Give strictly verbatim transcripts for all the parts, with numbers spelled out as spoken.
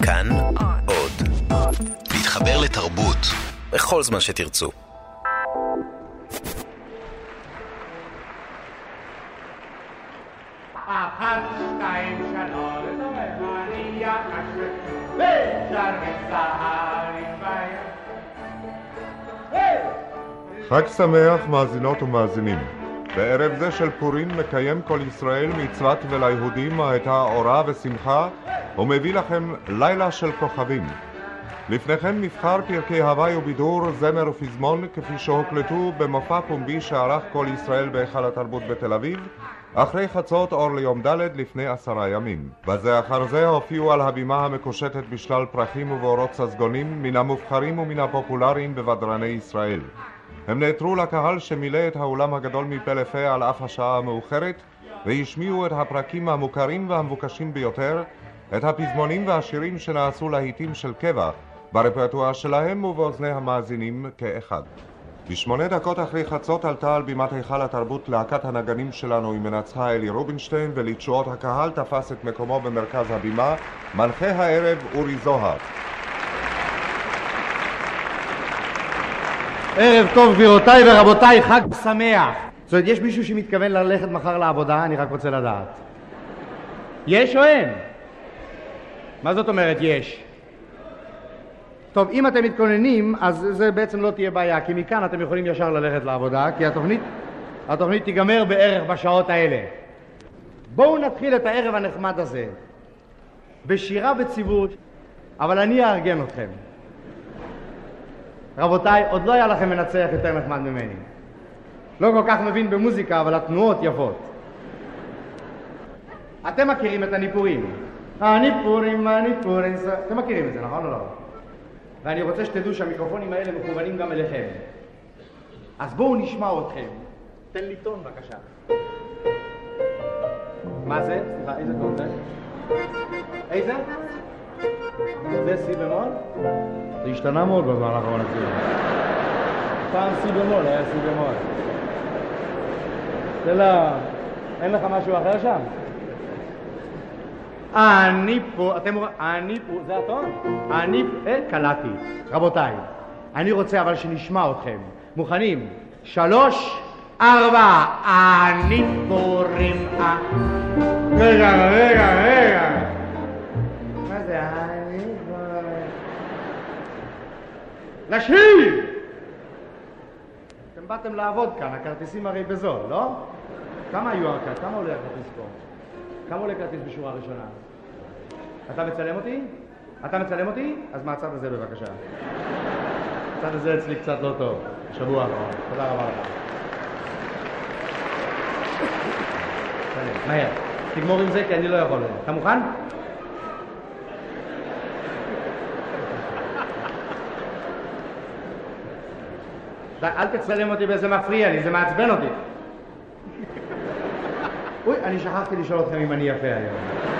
כאן עוד. להתחבר לתרבות בכל זמן שתרצו. אחת, שתיים, שלוש, אני יחש ושר וצהר עם חג שמח מאזינות ומאזינים. בערב זה של פורים מקיים כל ישראל מצוות וליהודים הייתה אורה ושמחה ומביא לכם לילה של כוכבים. לפניכם נבחר פרקי הוואי ובידור, זמר ופזמון כפי שהוקלטו במופע פומבי שערך כל ישראל בהיכל התרבות בתל אביב אחרי חצות אור ליום ד' לפני עשרה ימים. בזה אחר זה הופיעו על הבימה המקושטת בשלל פרחים ובאורות ססגונים מן המובחרים ומן הפופולריים בבדרני ישראל. הם נעתרו לקהל שמילא את האולם הגדול מפה לפה על אף השעה המאוחרת והשמיעו את הפרקים המוכרים והמבוקשים ביותר, את הפזמונים והשירים שנעשו להיטים של קבע ברפרטואר שלהם ובאוזני המאזינים כאחד. בשמונה דקות אחרי חצות עלתה על בימת היכל התרבות להקת הנגנים שלנו עם מנצחה אלי רובינשטיין, ולתשואות הקהל תפס את מקומו במרכז הבימה מנחה הערב אורי זוהר. ערב טוב גבירותיי ורבותיי, חג שמח. זאת אומרת, יש מישהו שמתכוון ללכת מחר לעבודה? אני רק רוצה לדעת. יש או אין? מה זאת אומרת יש? טוב, אם אתם מתכוננים, אז זה בעצם לא תהיה בעיה, כי מכאן אתם יכולים ישר ללכת לעבודה, כי התוכנית, התוכנית תיגמר בערך בשעות האלה. בואו נתחיל את הערב הנחמד הזה בשירה וציוות, אבל אני אארגן אתכם. רבותיי, עוד לא היה לכם מנצח יותר נחמד ממני. לא כל כך מבין במוזיקה, אבל התנועות יפות. אתם מכירים את הניפורים. הניפורים, הניפורים, אתם מכירים את זה, נכון או לא? ואני רוצה שתדעו שהמיקרופונים האלה מכוונים גם אליכם. אז בואו נשמע אתכם. תן לי טון בבקשה. מה זה? סליחה, איזה טון זה? איזה? זה סי במול? זה השתנה מאוד בזמן האחרון אפילו. פעם סי במול, היה סי במול. זה לא... אין לך משהו אחר שם? אני פה, אתם אומרים, אני פה, זה הטון? אני פה, אה, קלטתי. רבותיי, אני רוצה אבל שנשמע אתכם. מוכנים? שלוש, ארבע, אני פורים, אה... רגע, רגע, רגע. מה זה? אני פורים. לשיר! אתם באתם לעבוד כאן, הכרטיסים הרי בזול, לא? כמה היו הכרטיס? כמה עולה הכרטיס פה? כמה עולה כרטיס בשורה ראשונה? אתה מצלם אותי? אתה מצלם אותי? אז מהצד הזה בבקשה. הצד הזה אצלי קצת לא טוב. שבוע אחרון. תודה רבה לך. מהר. תגמור עם זה כי אני לא יכול. אתה מוכן? אל תצלם אותי באיזה מפריע לי, זה מעצבן אותי. אוי, אני שכחתי לשאול אתכם אם אני יפה היום.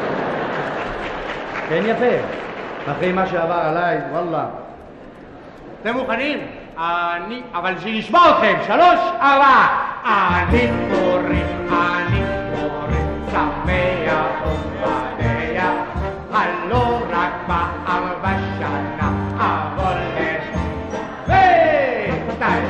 כן יפה. אחרי מה שעבר עליי, וואלה. אתם מוכנים? אני, אבל שנשמע אתכם. שלוש, ארבע. אני פורים, אני פורים, שמח ומדע. הלא רק פעם בשנה, אבל יש... וסתיים.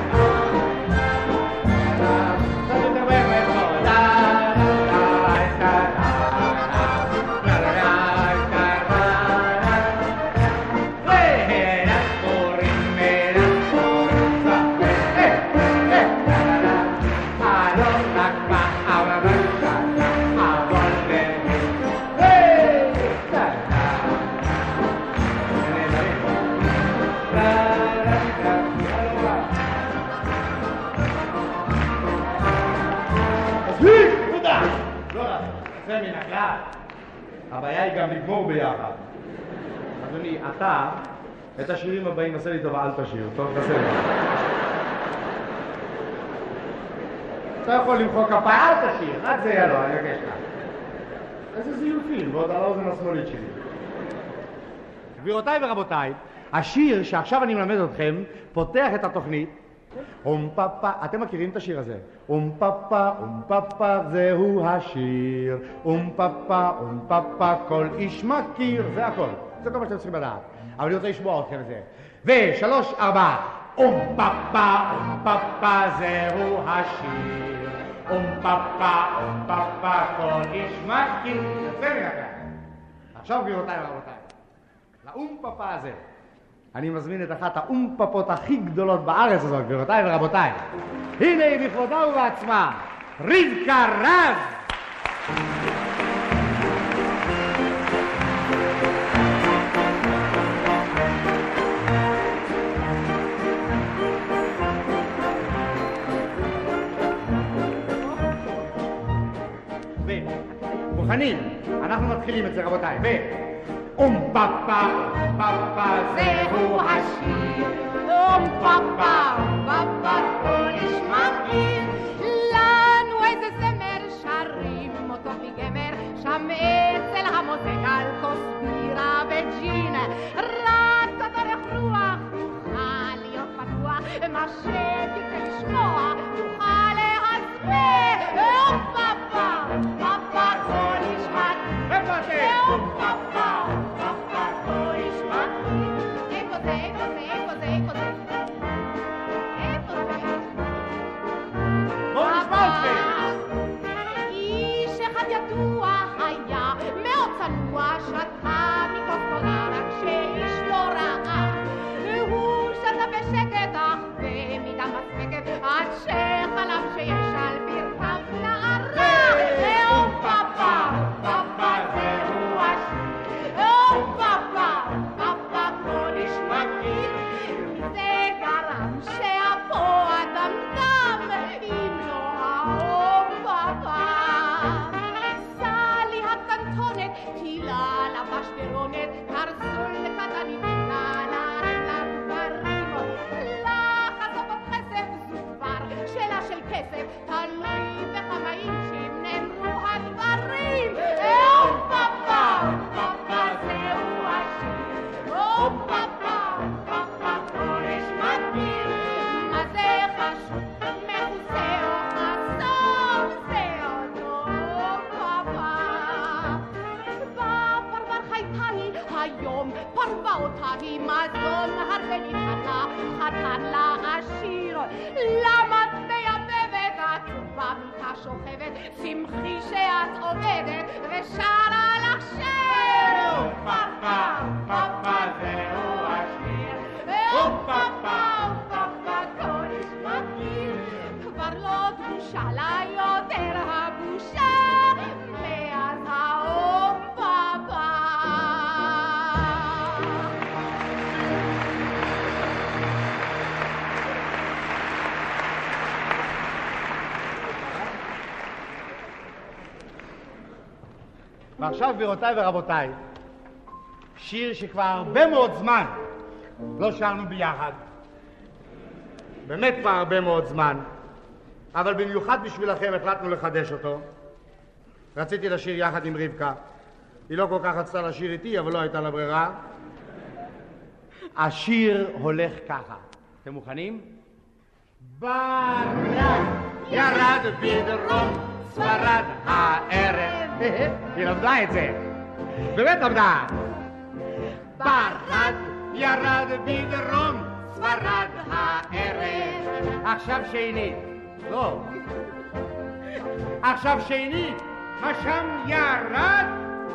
הבעיה היא גם לגמור ביחד. אדוני, אתה, את השירים הבאים, עשה לי טובה, אל תשיר. טוב, תעשה לי. אתה יכול למחוא כפיים, אל תשיר. רק זה יהיה לו, אני אגש לך. איזה זיופים, ועוד על האוזן השמאלית שלי. גבירותיי ורבותיי, השיר שעכשיו אני מלמד אתכם, פותח את התוכנית. אום פאפה, אתם מכירים את השיר הזה? אום פאפה, אום פאפה, זהו השיר. אום פאפה, אום פאפה, כל איש מכיר, זה הכל. זה כל מה שאתם צריכים לדעת. אבל אני רוצה לשמוע אתכם את זה. ושלוש, ארבע. אום פאפה, אום פאפה, זהו השיר. אום פאפה, אום פאפה, כל איש מכיר. יוצא לי לכם. עכשיו גבירותיי ורבותיי, לאום פאפה הזה. אני מזמין את אחת האום פאפות הכי גדולות בארץ הזאת, גבירותיי ורבותיי. הנה בכבודה ובעצמה, רבקה רז. מוכנים? אנחנו מתחילים את זה רבותיי. ו... אום פאפה, אום פאפה, זהו השיר. אום פאפה, אום פאפה, כל איש מכיר. לנו איזה זמר שרים אותו מגמר, שם אצל המותק על כוס בירה וג'ין. רק תדרך רוח, תוכל להיות פתוח, מה שתרצה לשמוע, תוכל להסביר. אום פאפה, אום פאפה, כל איש מכיר. איפה אתם? אום פאפה, אום פאפה, כל איש מכיר. איפה זה, איפה זה, איפה זה, איפה זה? איפה זה? בואו נשמע אתכם. איש אחד ידוע היה, מאוד צנוע, שתה מכוס גדולה, רק שאיש לא ראה. והוא שתה בשקט, אך במידה מספקת, עד שחלם שיש על ברכיו נערה. אום פאפה, אום פאפה, זהו השיר. אום פאפה, אום פאפה, כל איש מכיר. זה גרם שאפו אדם דם, אם לא האום פאפה. סלי הקטנטונת, טילה לבש ברונת, קרסול קטנית, נעליים לגברים. לחץ בכסף זו כבר שאלה של כסף, תלוי בכמה אינצ'ים נאמרו הדברים. אום פאפה, אום פאפה, זהו השיר. אום פאפה, אום פאפה, כל איש מכיר. מה זה חשוב, מכוסה או חסום, זה אותו פאפה. בפרבר חייתה היא היום, פרבה אותה היא מזון הרבה נתנה, חתן לעשיר. למה את מייבבת, את במיטה שוכבת, שמחי שאת עובדת ושרה לך שיר. אום פאפה, אום פאפה, זהו השיר. אום פאפה, אום פאפה, כל איש מכיר. כבר לא דרושה לה יותר הבושה, מאז האום פאפה. ועכשיו גבירותיי ורבותיי, שיר שכבר הרבה מאוד זמן לא שרנו ביחד. באמת כבר הרבה מאוד זמן, אבל במיוחד בשבילכם החלטנו לחדש אותו. רציתי לשיר יחד עם רבקה. היא לא כל כך רצתה לשיר איתי, אבל לא הייתה לה ברירה. השיר הולך ככה. אתם מוכנים? ברד ירד בדרום ספרד הערב. היא למדה את זה. באמת למדה. ברד ירד בדרום ספרד הערב. עכשיו שנית. לא. עכשיו שנית. מה שם ירד?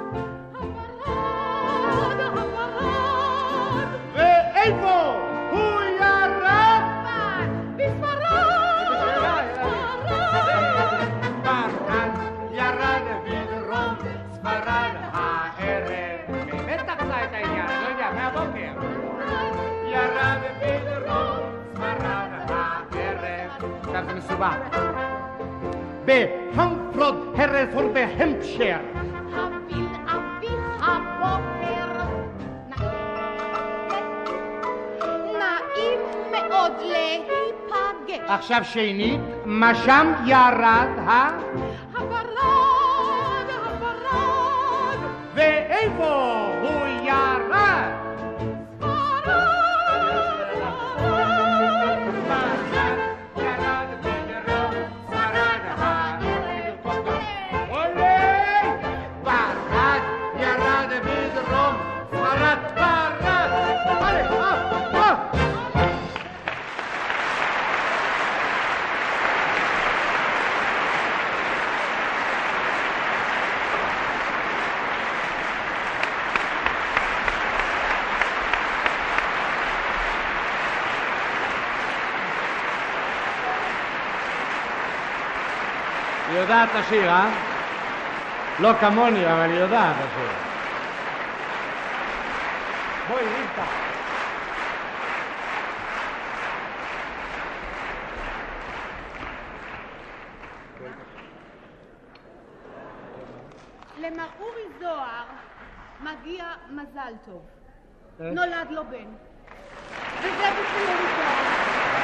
הפרד, הפרד. ואיפה הוא ירד? בספרד, בספרד. ברד ירד בדרום ספרד הערב. באמת תחתה את העניין, לא יודע, מהבוקר. ירד בדרום ספרד הערב. עכשיו זה מסובך. בהמפרוד הרפור בהמפשר. הביל אביך הבוקר. נעים מאוד להיפגש. עכשיו שנית, מה שם ירד, אה? הפרד, הפרד. ואיפה הוא ירד? פרד, פרד! הלאה, אה, אה! היא יודעת לשיר, אה? לא כמוני, אבל היא יודעת לשיר. בואי, רבקה. למר אורי זוהר מגיע מזל טוב. נולד לו בן. וזה בשביל אורי זוהר.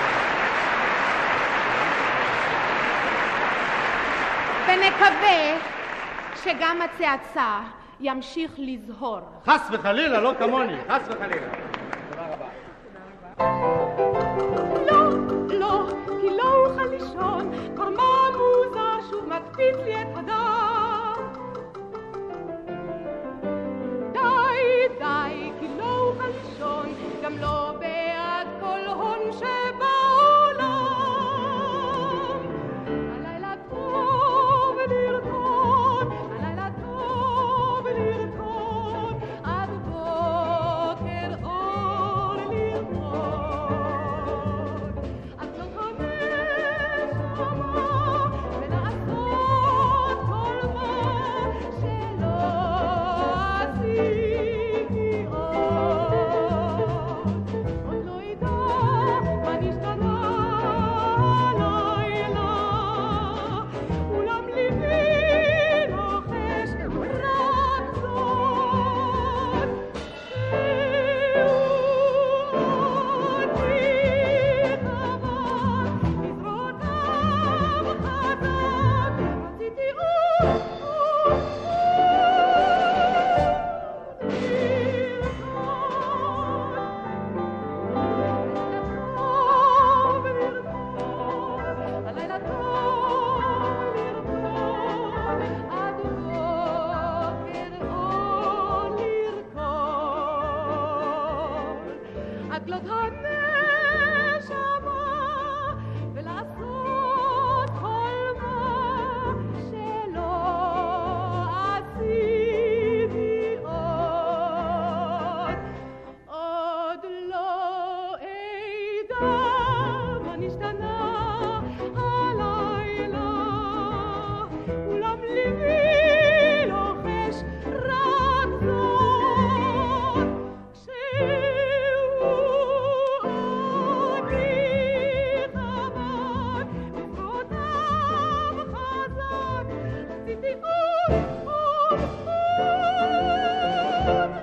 ונקווה שגם הצעצע ימשיך לזהור. חס וחלילה, לא כמוני, חס וחלילה. תודה רבה. לא, לא, כי לא אוכל לישון, קורמה מוזר שוב מקפיץ לי את הדם. די, די, כי לא אוכל לישון, גם לא בעד כל הון שבעולם. הלילה טוב לרקוד, הלילה טוב לרקוד, עד בוקר אור לרקוד. עד לא חמש שמה ולעשות כל מה שלא עשיתי עוד. עוד לא ידע מה נשתנה הלילה, אולם ליבי לוחש רק זאת, שהוא אותי חבק, בזרועותיו חזק, רציתי עוד הלילה טוב לרקוד, עד בוקר אור לרקוד, עגלות הנשמה ולעשות כל מה שלא עשיתי עוד. עוד לא אדע מה נשתנה הלילה, אולם ליבי לוחש רק זאת, שהוא אותי חבק, בזרועותיו חזק, רציתי עוד, עוד, עוד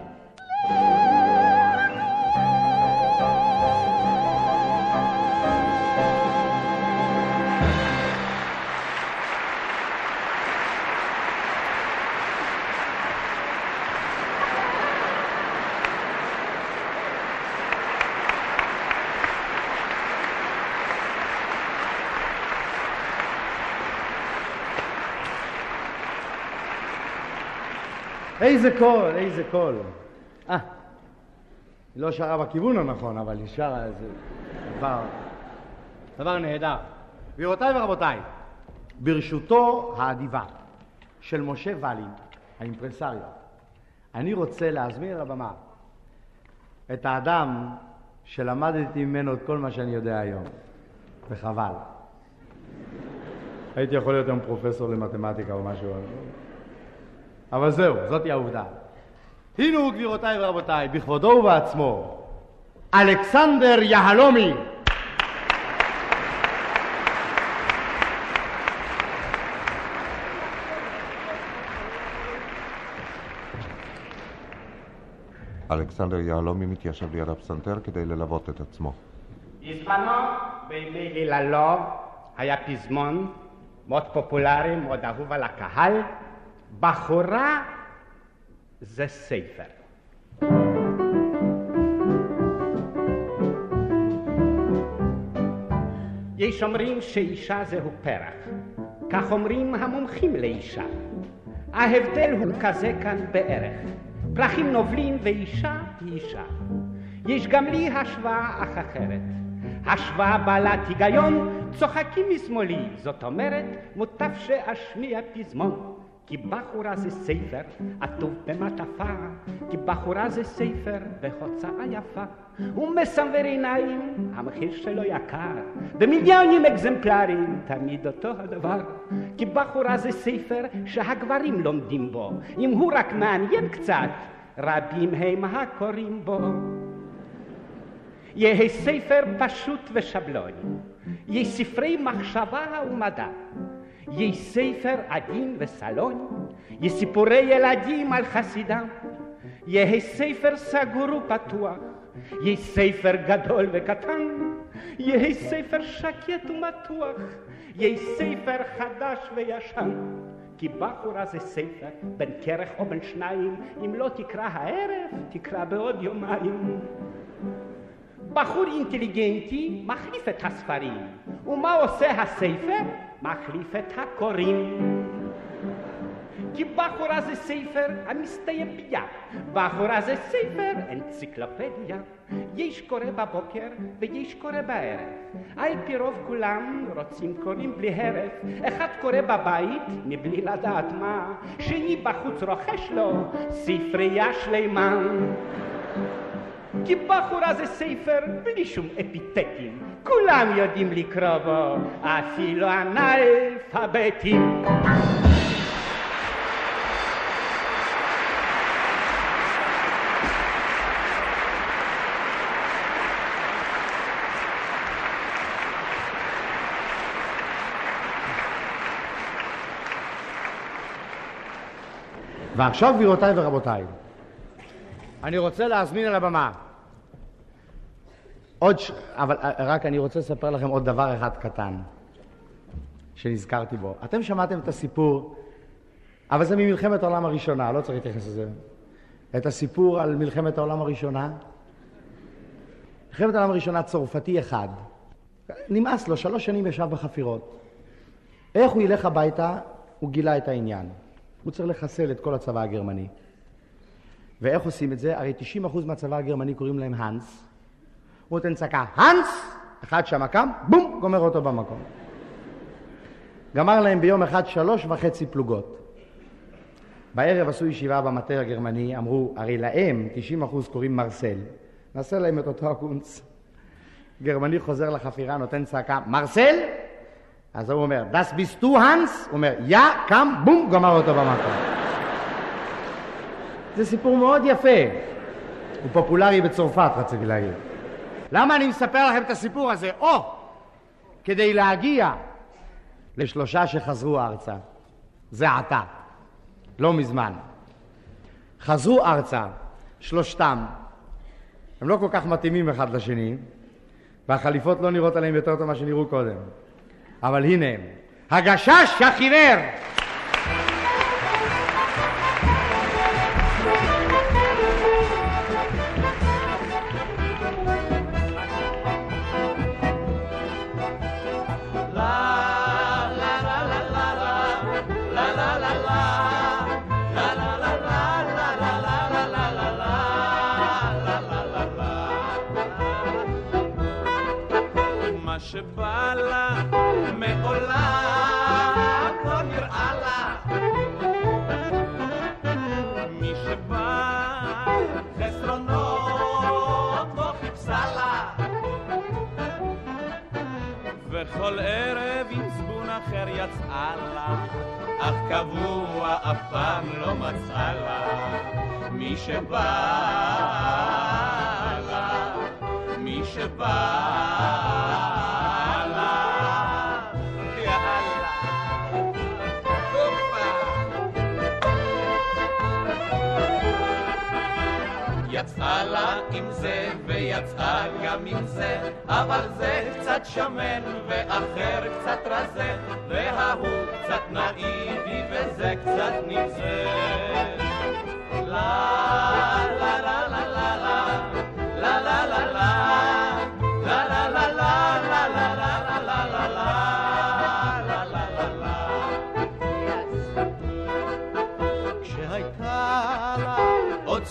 איזה קול, איזה קול. אה, היא לא שרה בכיוון הנכון, אבל היא שרה איזה דבר, דבר נהדר. גבירותיי ורבותיי, ברשותו האדיבה של משה ולין, האימפרסריו, אני רוצה להזמין על הבמה את האדם שלמדתי ממנו את כל מה שאני יודע היום, וחבל. הייתי יכול להיות היום פרופסור למתמטיקה או משהו, אבל זהו, זאת היא העובדה. הנה הוא, גבירותיי ורבותיי, בכבודו ובעצמו, אלכסנדר יהלומי. אלכסנדר יהלומי מתיישב ליד הפסנתר כדי ללוות את עצמו. בזמנו, בימי גיללו, היה פזמון מאוד פופולרי, מאוד אהוב על הקהל, בחורה זה ספר. יש אומרים שאישה זהו פרח, כך אומרים המומחים לאישה. ההבדל הוא כזה כאן בערך, פרחים נובלים ואישה היא אישה. יש גם לי השוואה אך אחרת. השוואה בעלת היגיון, צוחקים משמאלי. זאת אומרת, מוטב שאשמיע פזמון. כי בחורה זה ספר עטוב במעטפה, כי בחורה זה ספר בהוצאה יפה. הוא מסנוור עיניים, המחיר שלו יקר, במיליונים אקזמפלרים, תמיד אותו הדבר. כי בחורה זה ספר שהגברים לומדים בו, אם הוא רק מעניין קצת, רבים הם הקוראים בו. יהיה ספר פשוט ושבלוני, יהיה ספרי מחשבה ומדע, יהיה ספר עדין וסלוני, יהיה סיפורי ילדים על חסידם, יהיה ספר סגור ופתוח, יהיה ספר גדול וקטן, יהיה ספר שקט ומתוח, יהיה ספר חדש וישן. כי בחורה זה ספר בין כרך או בין שניים, אם לא תקרא הערב, תקרא בעוד יומיים. בחור אינטליגנטי מחליף את הספרים, ומה עושה הספר? מחליף את הקוראים. כי בחורה זה ספר המסתיים ביד, בחורה זה ספר אנציקלופדיה. יש קורא בבוקר ויש קורא בערב, על פי רוב כולם רוצים קוראים בלי הרף. אחד קורא בבית מבלי לדעת מה, שני בחוץ רוכש לו ספרייה שלמה. כי בחורה זה ספר בלי שום אפיתטים, כולם יודעים לקרוא בו, אפילו אנאלפביתים. ועכשיו גבירותיי ורבותיי, אני רוצה להזמין על הבמה עוד ש... אבל רק אני רוצה לספר לכם עוד דבר אחד קטן שנזכרתי בו. אתם שמעתם את הסיפור, אבל זה ממלחמת העולם הראשונה, לא צריך להתייחס לזה. את הסיפור על מלחמת העולם הראשונה. מלחמת העולם הראשונה, צרפתי אחד, נמאס לו, שלוש שנים ישב בחפירות. איך הוא ילך הביתה? הוא גילה את העניין. הוא צריך לחסל את כל הצבא הגרמני. ואיך עושים את זה? הרי תשעים אחוז מהצבא הגרמני קוראים להם הנס. הוא נותן צעקה, הנס! אחד שם קם, בום, גומר אותו במקום. גמר להם ביום אחד שלוש וחצי פלוגות. בערב עשו ישיבה במטה הגרמני, אמרו, הרי להם תשעים אחוז קוראים מרסל. נעשה להם את אותו הקונץ. גרמני חוזר לחפירה, נותן צעקה, מרסל? אז הוא אומר, das bist du הנס? הוא אומר, יא, קם, בום, גמר אותו במקום. זה סיפור מאוד יפה. הוא פופולרי בצרפת, רציתי להגיד. למה אני מספר לכם את הסיפור הזה? או, כדי להגיע לשלושה שחזרו ארצה. זה עתה, לא מזמן. חזרו ארצה, שלושתם. הם לא כל כך מתאימים אחד לשני, והחליפות לא נראות עליהם יותר טוב מה שנראו קודם. אבל הנה הם, הגשש החיוור. שבא לה מעולם לא נראה לה, מי שבא חסרונות לא חיפשה לה, וכל ערב עם זבון אחר יצאה לה, אך קבוע אף פעם לא מצאה לה, מי שבא לה, מי שבא יצאה לה עם זה ויצאה גם עם זה, אבל זה קצת שמן ואחר קצת רזה, וההוא קצת נאיבי וזה קצת נבזה. לה לה לה לה לה לה לה לה לה לה לה לה לה לה לה לה לה לה לה. כשהייתה לה עוד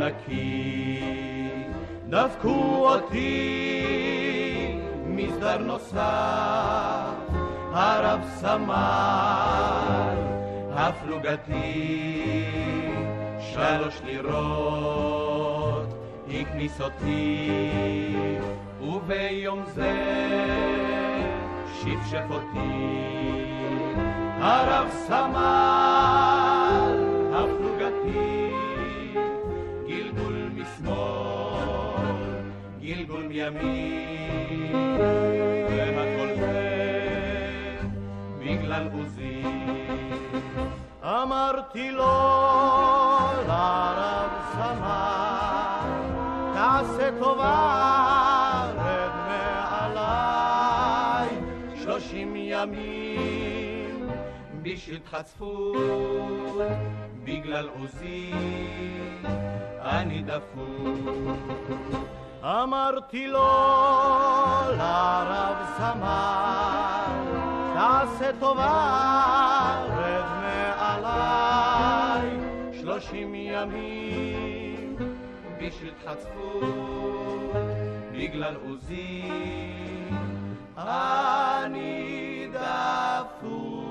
נקי, דפקו אותי מסדר נוסף, הרב סמל הפלוגתי, שלוש לירות הכניס אותי, וביום זה שפשף אותי, הרב סמל הפלוגתי, גלגול משמאל, גלגול מימין, והכל זה בגלל עוזי. אמרתי לו לרב סמל, תעשה טובה, רד מעליי, שלושים ימים בשביל חצפות, בגלל עוזי אני דפוק. אמרתי לו לרב סמל, תעשה טובה, רד מעליי, שלושים ימים בשביל חצפות, בגלל עוזי אני דפוק.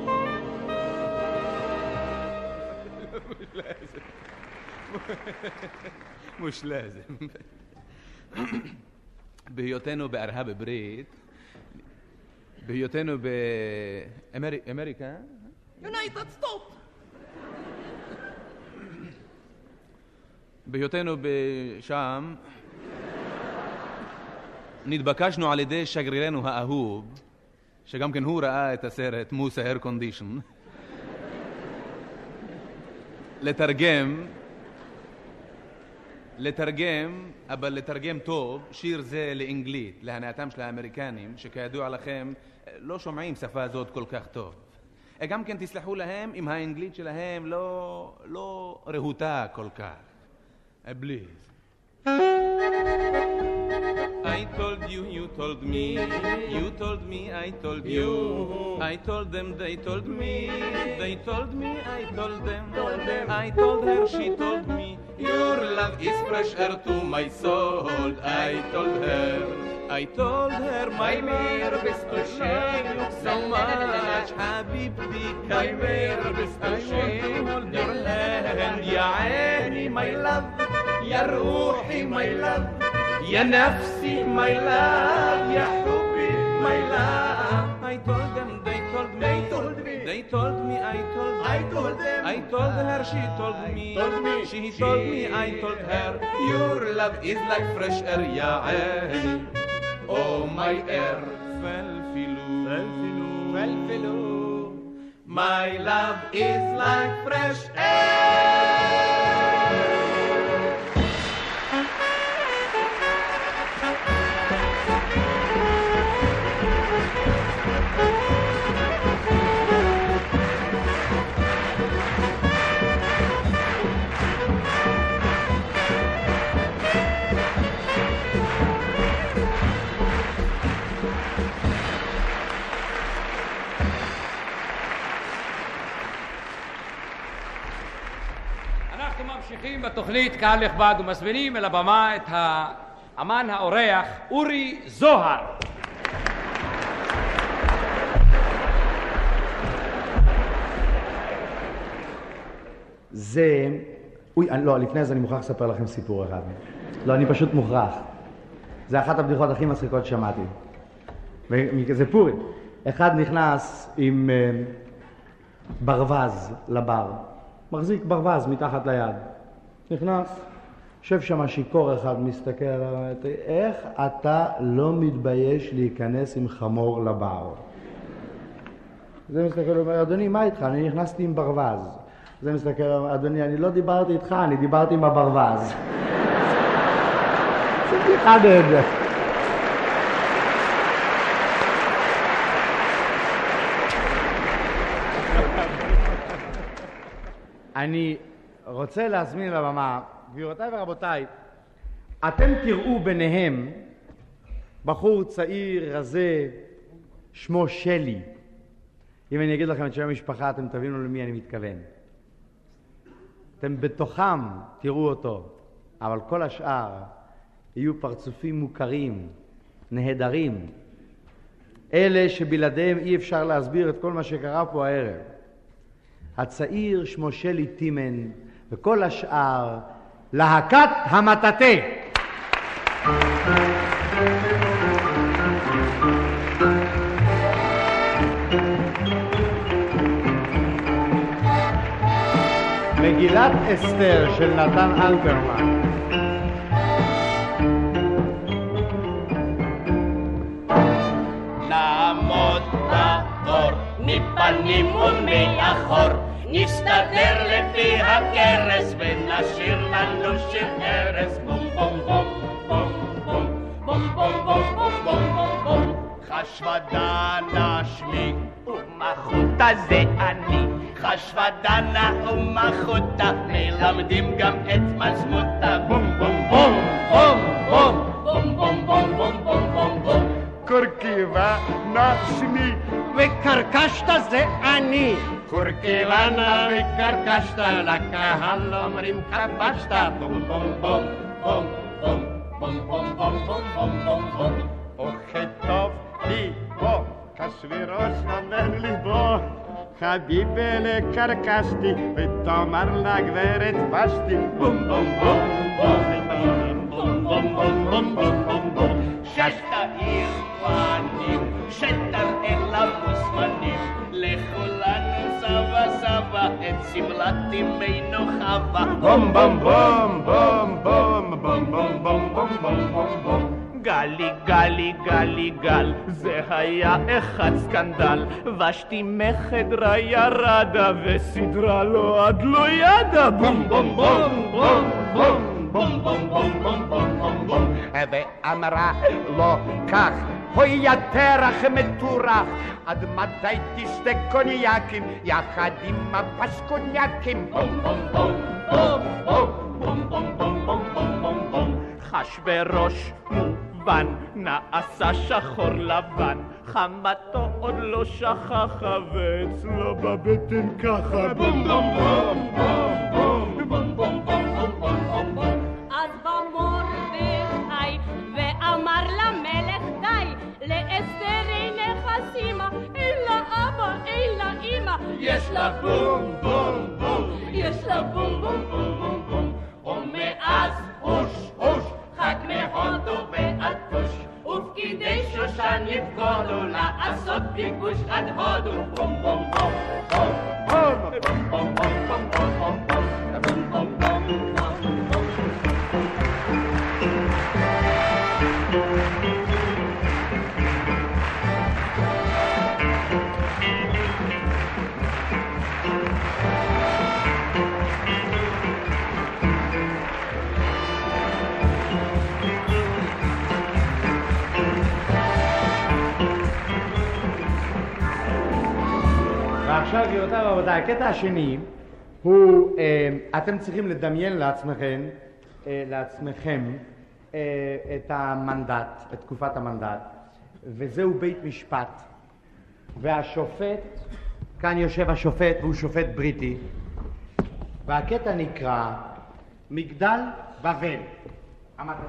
مش لازم. בהיותנו בארה"ב ברית, בהיותנו באמריקה, יונייטד סטוט, בהיותנו בשם, נתבקשנו על ידי שגרירנו האהוב, שגם כן הוא ראה את הסרט מוסה הר קונדישן, לתרגם, לתרגם, אבל לתרגם טוב, שיר זה לאנגלית, להנאתם של האמריקנים, שכידוע לכם לא שומעים שפה זאת כל כך טוב. גם כן תסלחו להם אם האנגלית שלהם לא, לא רהוטה כל כך. Please. I told you, you told me, you told me, I told you, I told them, they told me, they told me, I told them, I told her, she told me, your love is fresh air to my soul, I told her, I told her, my dear, bist du schön, so much, Habibti, my dear, bist du schön, hold your hand, ya aini, my love, ya ruhi, my love, ya nafsi, my love, ya hubbi, my love. I told them, they told me, they told me, they told me, I told them, I told them, I told her, she told me, told me, she told me, I told her, your love is like fresh air, ya aini. Oh my air, falfilu, falfilu, falfilu. My love is like fresh air. ממשיכים בתוכנית קהל נכבד ומזמינים אל הבמה את האמן האורח אורי זוהר. זה... אוי, אני, לא, לפני זה אני מוכרח לספר לכם סיפור אחד. לא, אני פשוט מוכרח. זה אחת הבדיחות הכי מצחיקות ששמעתי. זה פורים. אחד נכנס עם uh, ברווז לבר. מחזיק ברווז מתחת ליד. נכנס, יושב שם שיקור אחד, מסתכל עליו, איך אתה לא מתבייש להיכנס עם חמור לבר? זה מסתכל, הוא אומר, אדוני, מה איתך? אני נכנסתי עם ברווז. זה מסתכל, אדוני, אני לא דיברתי איתך, אני דיברתי עם הברווז. זה בדיחה נהדרת. אני רוצה להזמין לבמה, גבירותיי ורבותיי, אתם תראו ביניהם בחור צעיר, רזה, שמו שלי. אם אני אגיד לכם את שם המשפחה, אתם תבינו למי אני מתכוון. אתם בתוכם תראו אותו. אבל כל השאר יהיו פרצופים מוכרים, נהדרים. אלה שבלעדיהם אי אפשר להסביר את כל מה שקרה פה הערב. הצעיר שמו שלי טימן, וכל השאר להקת המטאטה. מגילת אסתר של נתן אלתרמן. נעמוד באור מפנים ומאחור, נסתדר לפי הכרס ונשאיר לנו שיר ערס. בום בום בום בום בום בום בום בום בום בום בום בום. חשוודנה שמי ומחותה זה אני, חשוודנה ומחותה מלמדים גם את מזמותה. בום בום בום בום בום בום בום בום בום בום בום בום. קורקיבנה שמי וקרקשת זה אני, קורקיבנה וקרקשת לקהל אומרים כבשת. בום בום בום בום בום בום בום בום בום בום בום בום. וכתוב ליבו כשווירוש אומר ליבו, חביבי לקרקשתי ותאמר לגברת פשתי. בום בום בום בום בום בום בום בום בום בום בום. שתאיר פנים שתראה למוזמנים, לכולנו סבא סבא את שמלת אמנו חווה. בום בום בום בום בום בום בום בום בום בום בום בום. גלי גלי גלי גל, זה היה אחד סקנדל, ושתי מחדרה ירדה וסדרה לו עד לא ידה. בום בום בום בום בום בום בום בום בום בום בום בום. ואמרה לו כך, הוי יא תרח מטורח, עד מתי תשתה קוניאקים יחד עם הפסקוניאקים. בום בום בום בום בום בום בום בום בום בום בום. חשברוש מובן נעשה שחור לבן, חמתו עוד לא שכחה ואצלו בבטן ככה. בום בום בום בום בום בום בום בום בום בום בום. אז במרדכי ואמר למלך די, לאסתר אין חסימה, אין לה אבא, אין לה אמא, יש לה בום בום בום, יש לה בום בום בום בום בום. ומאז הוש הוש חג מהודו ועד כוש, ופקידי שושן יפקודו לעשות כיבוש עד הודו. בום בום בום בום בום בום בום בום בום בום בום בום בום בום. ועכשיו גבירותיי ורבותיי, הקטע השני הוא, אה, אתם צריכים לדמיין לעצמכם, אה, לעצמכם אה, את המנדט, את תקופת המנדט, וזהו בית משפט, והשופט, כאן יושב השופט והוא שופט בריטי, והקטע נקרא מגדל בבל, המטאטה.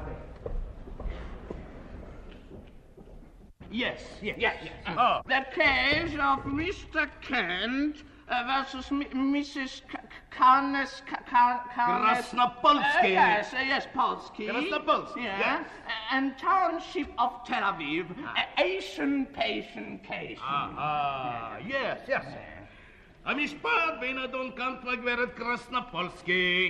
Yes, yes, yes. yes. Oh. The case of Mister Kent uh, versus M- Missus Karnes... Krasnopolsky. Uh, yes, uh, yes, Polsky. Krasnopolsky, yeah. yes. Uh, and Township of Tel Aviv, ah. uh, Asian patient case. Ah, ah, yes, yes. המשפט בין אדון קאנט והגברת קרסנופולסקי.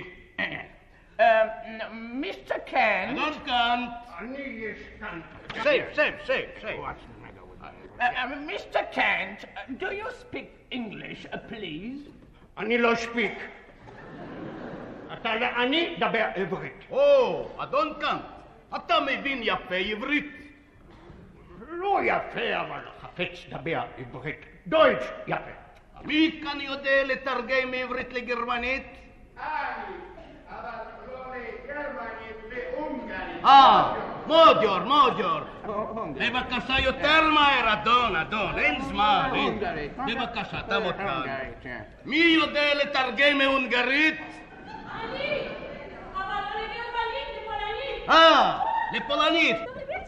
Mister Kent... אדון קאנט. אני יש קאנט. Say, say, say, say. Uh, uh, Mister Kent, uh, do you speak English, uh, please? אני לא speak. אתה אני דבר עברית. או, אדון קאנט, אתה מבין יפה עברית? לא יפה, אבל חפץ דבר עברית. דויטש יפה. מי כאן יודע לתרגם מעברית לגרמנית? אני, אבל לא לגרמנית, להונגרית. אה, מודיור, מודיור. בבקשה יותר מהר, אדון, אדון, אין זמן. בבקשה, תעמוד כאן. מי יודע לתרגם מהונגרית? אני, אבל לא לגרמנית. אה, לפולנית.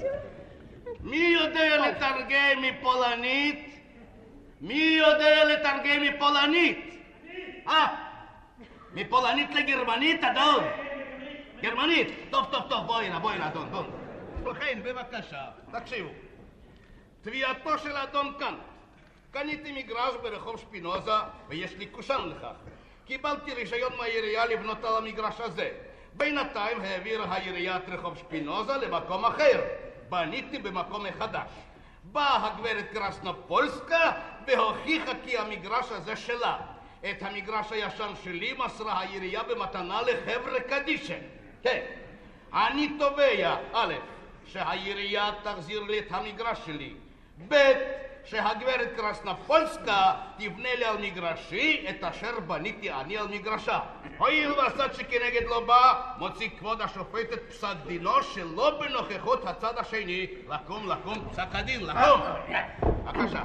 מי יודע לתרגם מפולנית? מי יודע לתרגם מפולנית? אה, מפולנית לגרמנית, אדון? גרמנית? טוב, טוב, טוב, בואי הנה, בואי הנה, אדון, בואי. ובכן, בבקשה, תקשיבו. תביעתו של אדון קאנט. קניתי מגרש ברחוב שפינוזה, ויש לי קושאן לכך. קיבלתי רישיון מהעירייה לבנות על המגרש הזה. בינתיים העבירה העירייה את רחוב שפינוזה למקום אחר. בניתי במקום מחדש. באה הגברת קרסנופולסקה והוכיחה כי המגרש הזה שלה. את המגרש הישן שלי מסרה העירייה במתנה לחבר'ה קדישא. כן, אני תובע, א', שהעירייה תחזיר לי את המגרש שלי. ב', שהגברת קרסנופולסקה תבנה לי על מגרשי את אשר בניתי אני על מגרשה. הואיל והצד שכנגד לא בא, מוציא כבוד השופט את פסק דינו שלא בנוכחות הצד השני. לקום, לקום, פסק הדין, לקום. בבקשה.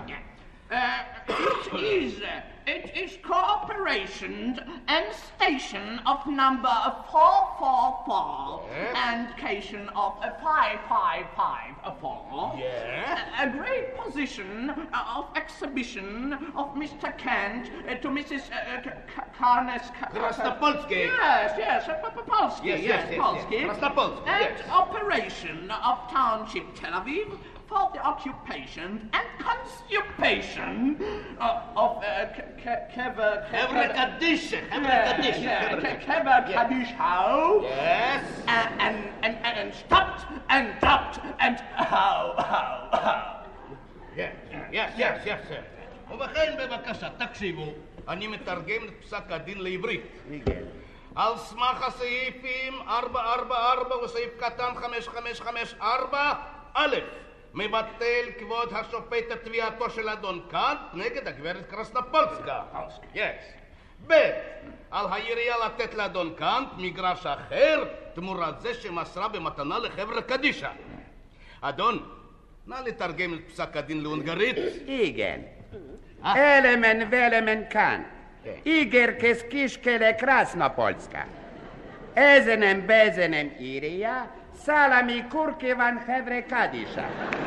It is, it is cooperation and station of number four four four Yes. and cation of five five five four. Yes. A great position of exhibition of Mister Kant uh, to Missus Uh, Karnes... Krasnopolsky. Yes, yes, uh, Polsky, Yes, yes, yes, yes, Polsky. yes. Krasnopolsky, And yes. operation of Township Tel Aviv for the occupation and constipation uh, of uh, Kever... חבר'ה קדישא, חבר'ה קדישא. Kever Kadishau. Yes. And, and, and, and stopped and dropped and how, how, how. Yes, yes, yes, yes, yes. ובכן, בבקשה, תקשיבו, אני מתרגם את פסק הדין לעברית. על סמך הסעיפים ארבע ארבע ארבע וסעיף קטן חמש חמש חמש ארבע, א', מבטל כבוד השופט את תביעתו של אדון קאנט נגד הגברת קרסנופולסקה. Yes. ב', על העירייה לתת לאדון קאנט מגרש אחר תמורת זה שמסרה במתנה לחבר'ה קדישא. אדון, נא לתרגם את פסק הדין להונגרית. Igen. Elemen velemen kan. Iger keskiskele Krasnopolska. Ezenem bezenem Iria, salami kurkivan hevre kadisha.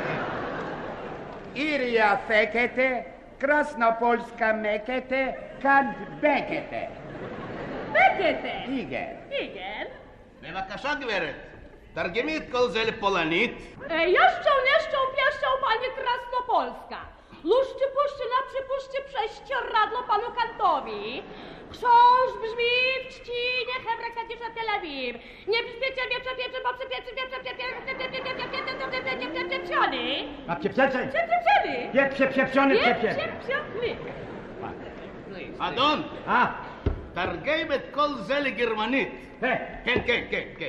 Iria fekete, Krasnopolska mekete, kant bekete. Bekete. Igen. Igen. בבקשה גברת, תרגמי את כל זה לפולנית. Jeszcze, jeszcze, jeszcze, panie Krasnopolska. Luszczy, puszczy, na przypuszczy prześcieradło panu Kantowi. Książ brzmi w trzcinie Hebra Kadisza Tel Aviv. Nie przypiecie wieprze, wieprze, bo przypieczy, wieprze, wieprze, pieprzony. A pieprzony? Pieprzony. Pieprze, pieprzony, pieprze. Pieprzony. אדון, תרגם את כל זה לגרמנית. כן, כן, כן, כן.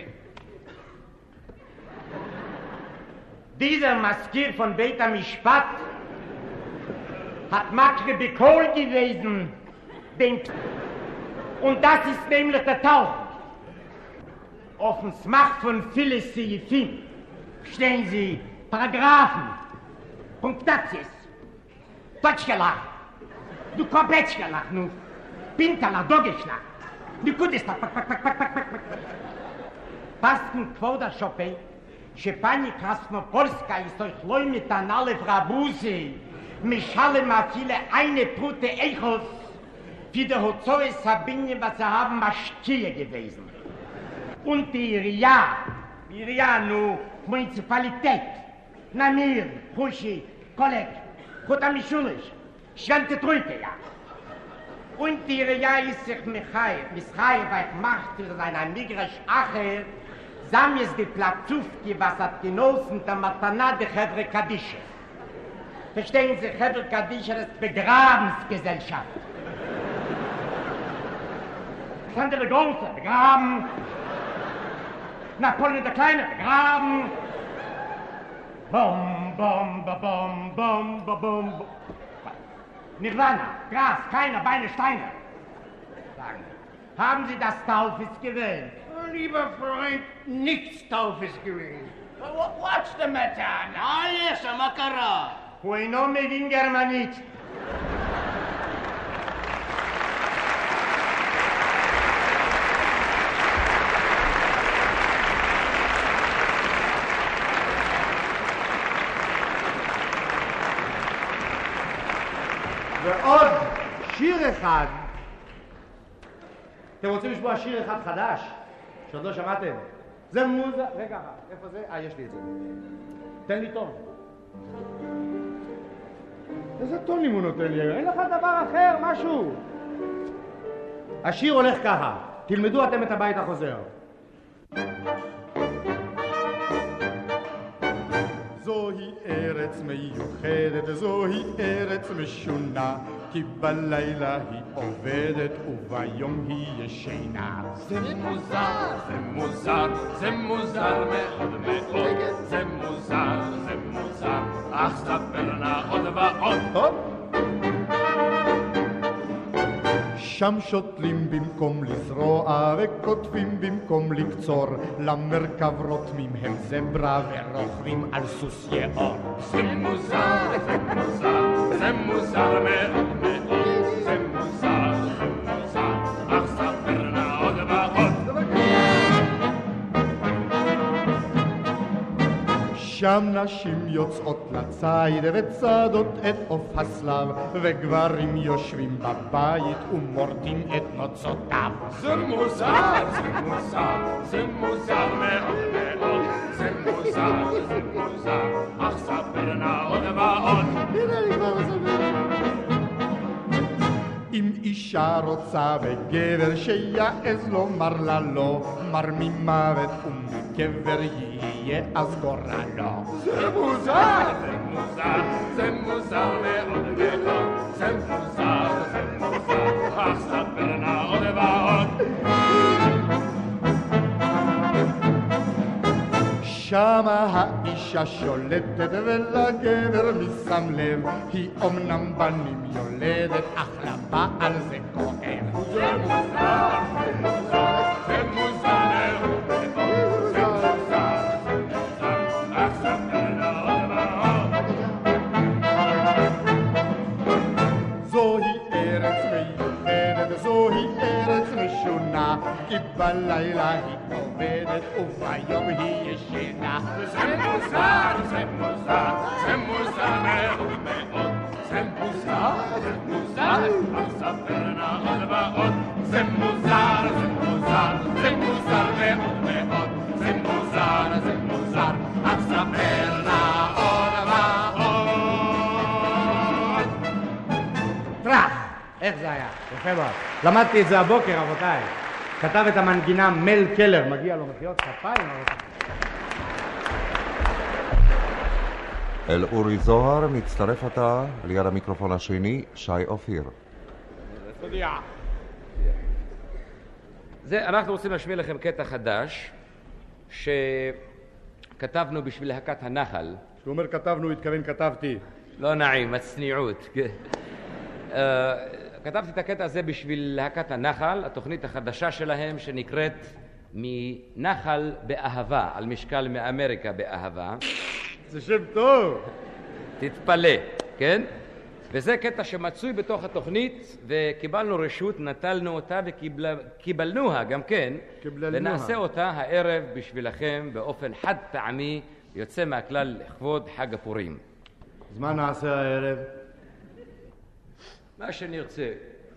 Dieser Maskier von Beit HaMishpat hat Makre Bekol gewesen, den und das ist nämlich der Tauch. Auf dem Smach von Phyllis Seifin stehen Sie Paragraphen, Punktations, Deutschgelach, du Komplettgelach, nu Pinterlach, Dogeschlach, du Kudestach, pak, pak, pak, pak, pak, pak, pak. Pasken Kvoda Shopei, שפני קרסנופולסקה ist euch loi mit an alle Frabuse, mischale ma viele eine Brute Echos, für die Hozoe Sabine, was sie haben, Maschkie gewesen. Und die Iria, Iria, nu, Municipalität, Namir, Puschi, Kolleg, Chotamischulisch, Schwente Trüte, ja. Und die Iria ist sich Michai, Mischai, weil macht für seine Migrisch Acher, Sam ist die Platzufki, was hat genossen der Matana der Chevre Kadische. Verstehen Sie, Chevre Kadische ist Begrabensgesellschaft. Alexander der Große, begraben. Napoleon der Kleine, begraben. Bom, bom, ba, bom, bom, ba, bom, bom. Nirvana, Gras, keine Beine, Steine. Sagen Sie, haben Sie das Taufes gewählt? Lieber Freund, nichts Taufes gewesen. What's the matter now? Ah, yes, מה קרה? הוא אינו מבין גרמנית. ועוד שיר אחד. אתם רוצים לשמוע שיר אחד חדש? שעוד לא שמעתם? זה מוזה... רגע, איפה זה? אה, יש לי את זה. תן לי טון. איזה טונים הוא נותן לי? אין לך דבר אחר, משהו. השיר הולך ככה. תלמדו אתם את הבית החוזר. זוהי ארץ מיוחדת, זוהי ארץ משונה, כי בלילה היא עובדת וביום היא ישנה. זה מוזר, זה מוזר, זה מוזר מאוד מאוד, זה מוזר, זה מוזר, אך ספר נא עוד ועוד. שם שותלים במקום לזרוע וכותבים במקום לקצור, למרכב רותמים הם זברה ורוכבים על סוס יעור. זה מוזר, זה מוזר, זה מוזר מאוד מאוד, זה מוזר, זה מוזר, אך ספר נא עוד ועוד. שם נשים יוצאות לציד וצדות את עוף הסלב, וגברים יושבים בבית ומורדים את נוצותיו. זה מוזר, זה מוזר, זה מוזר מאוד מאוד, זה מוזר, זה מוזר, אך ספר נא עוד ועוד. הנה אני כבר מספר. אם אישה רוצה בגבר שיעז לומר לה לא, מר ממוות ומגבר יהיה אז גורלו. זה מוזר, זה מוזר, זה מוזר מאוד מאוד, זה מוזר, זה מוזר, אך ספר נא עוד ועוד. שמה האישה שולטת ולגבר משם לב, היא אומנם בנים יולדת אך לבעל זה כואב. זה מוזר, זה מוזר, זה מוזר מאוד מאוד, זה מוזר, זה מוזר, אך ספר נא עוד ועוד. זוהי ארץ מיוחדת, זוהי ארץ משונה, כי בלילה היא עובדת וביום היא ישנה. זה מוזר, זה מוזר, זה מוזר מאוד מאוד, זה מוזר, זה מוזר, אך ספר נא עוד ועוד. זה מוזר, זה מוזר, זה מוזר מאוד מאוד, זה מוזר, זה מוזר, אך ספר נא עוד ועוד. טראח! איך זה היה? יפה מאוד. למדתי את זה הבוקר, רבותיי. כתב את המנגינה מל קלר, מגיע לו מחיאות כפיים. אל אורי זוהר מצטרף עתה ליד המיקרופון השני שי אופיר. תודיע. זה, אנחנו רוצים להשמיע לכם קטע חדש שכתבנו בשביל להקת הנחל. כשהוא אומר כתבנו, התכוון כתבתי. לא נעים, הצניעות. uh, כתבתי את הקטע הזה בשביל להקת הנחל, התוכנית החדשה שלהם שנקראת מנחל באהבה, על משקל מאמריקה באהבה. זה שם טוב. תתפלא, כן? וזה קטע שמצוי בתוך התוכנית, וקיבלנו רשות, נטלנו אותה וקיבלנוה גם כן, ונעשה אותה הערב בשבילכם באופן חד פעמי, יוצא מהכלל לכבוד חג הפורים. אז מה נעשה הערב? מה שנרצה.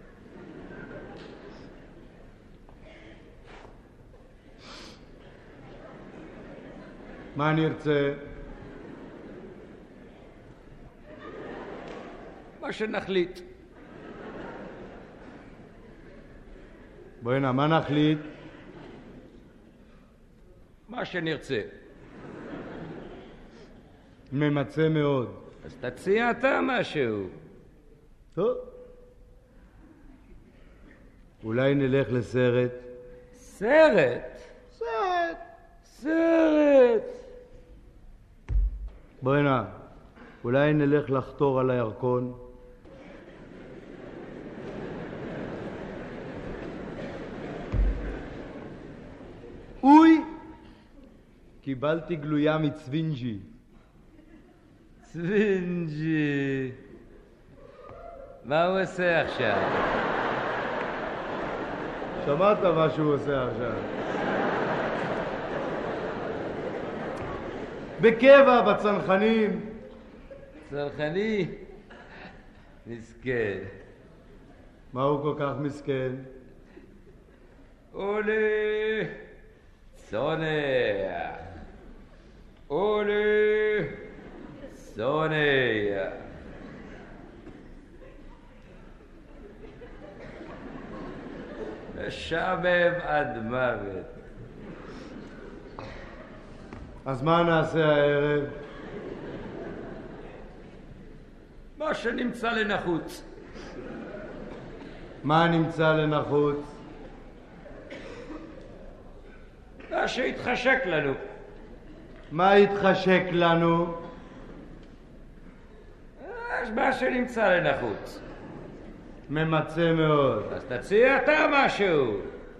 מה נרצה? מה שנחליט. בואי הנה, מה נחליט? מה שנרצה. ממצא מאוד. אז תציע אתה משהו. טוב. אולי נלך לסרט. סרט? סרט. סרט. בואי הנה, אולי נלך לחתור על הירקון. אוי! קיבלתי גלויה מצווינג'י. צווינג'י. מה הוא עושה עכשיו? שמעת מה שהוא עושה עכשיו. בקבע, בצנחנים. צנחני? מסכן. מה הוא כל כך מסכן? אולי צונח. אולי צונח. משעמם עד מוות. אז מה נעשה הערב? מה שנמצא לנחוץ. מה נמצא לנחוץ? מה שהתחשק לנו. מה התחשק לנו? מה שנמצא לנחוץ. ממצא מאוד. אז תציע אתה משהו.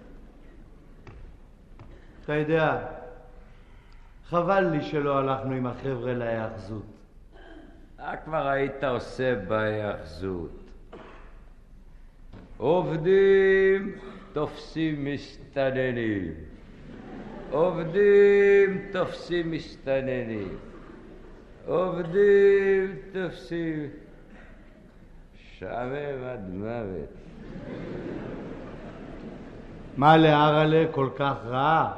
אתה יודע, חבל לי שלא הלכנו עם החבר'ה להיאחזות. מה כבר היית עושה בהיאחזות? עובדים תופסים מסתננים. עובדים תופסים מסתננים. עובדים תופסים... שעמם עד מוות. מה להרלה כל כך רע?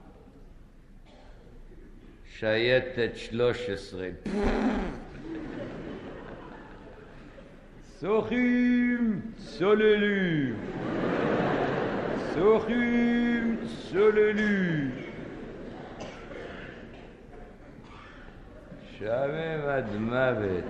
שייטת שלוש עשרה. שוחים צוללים. שוחים צוללים. שעמם עד מוות.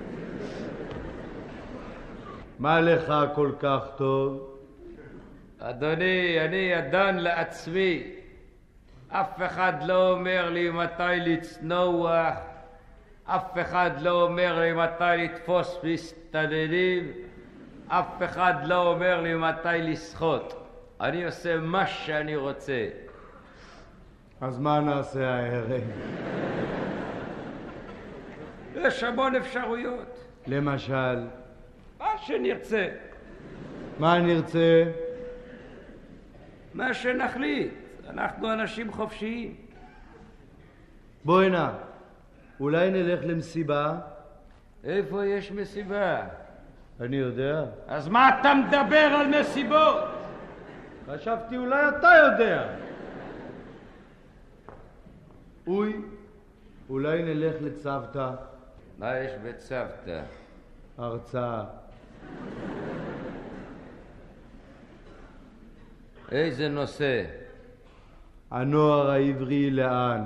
מה לך כל כך טוב? אדוני, אני ידן לעצמי. אף אחד לא אומר לי מתי לצנוח. אף אחד לא אומר לי מתי לתפוס מסתננים. אף אחד לא אומר לי מתי לשחות. אני עושה מה שאני רוצה. אז מה נעשה הערב? יש המון אפשרויות. למשל? מה שנרצה. מה נרצה? מה שנחליט. אנחנו אנשים חופשיים. בואי נא, אולי נלך למסיבה? איפה יש מסיבה? אני יודע. אז מה אתה מדבר על מסיבות? חשבתי אולי אתה יודע. אוי, אולי נלך לצוותא. מה יש בצוותא? הרצאה. איזה נושא? הנוער העברי לאן?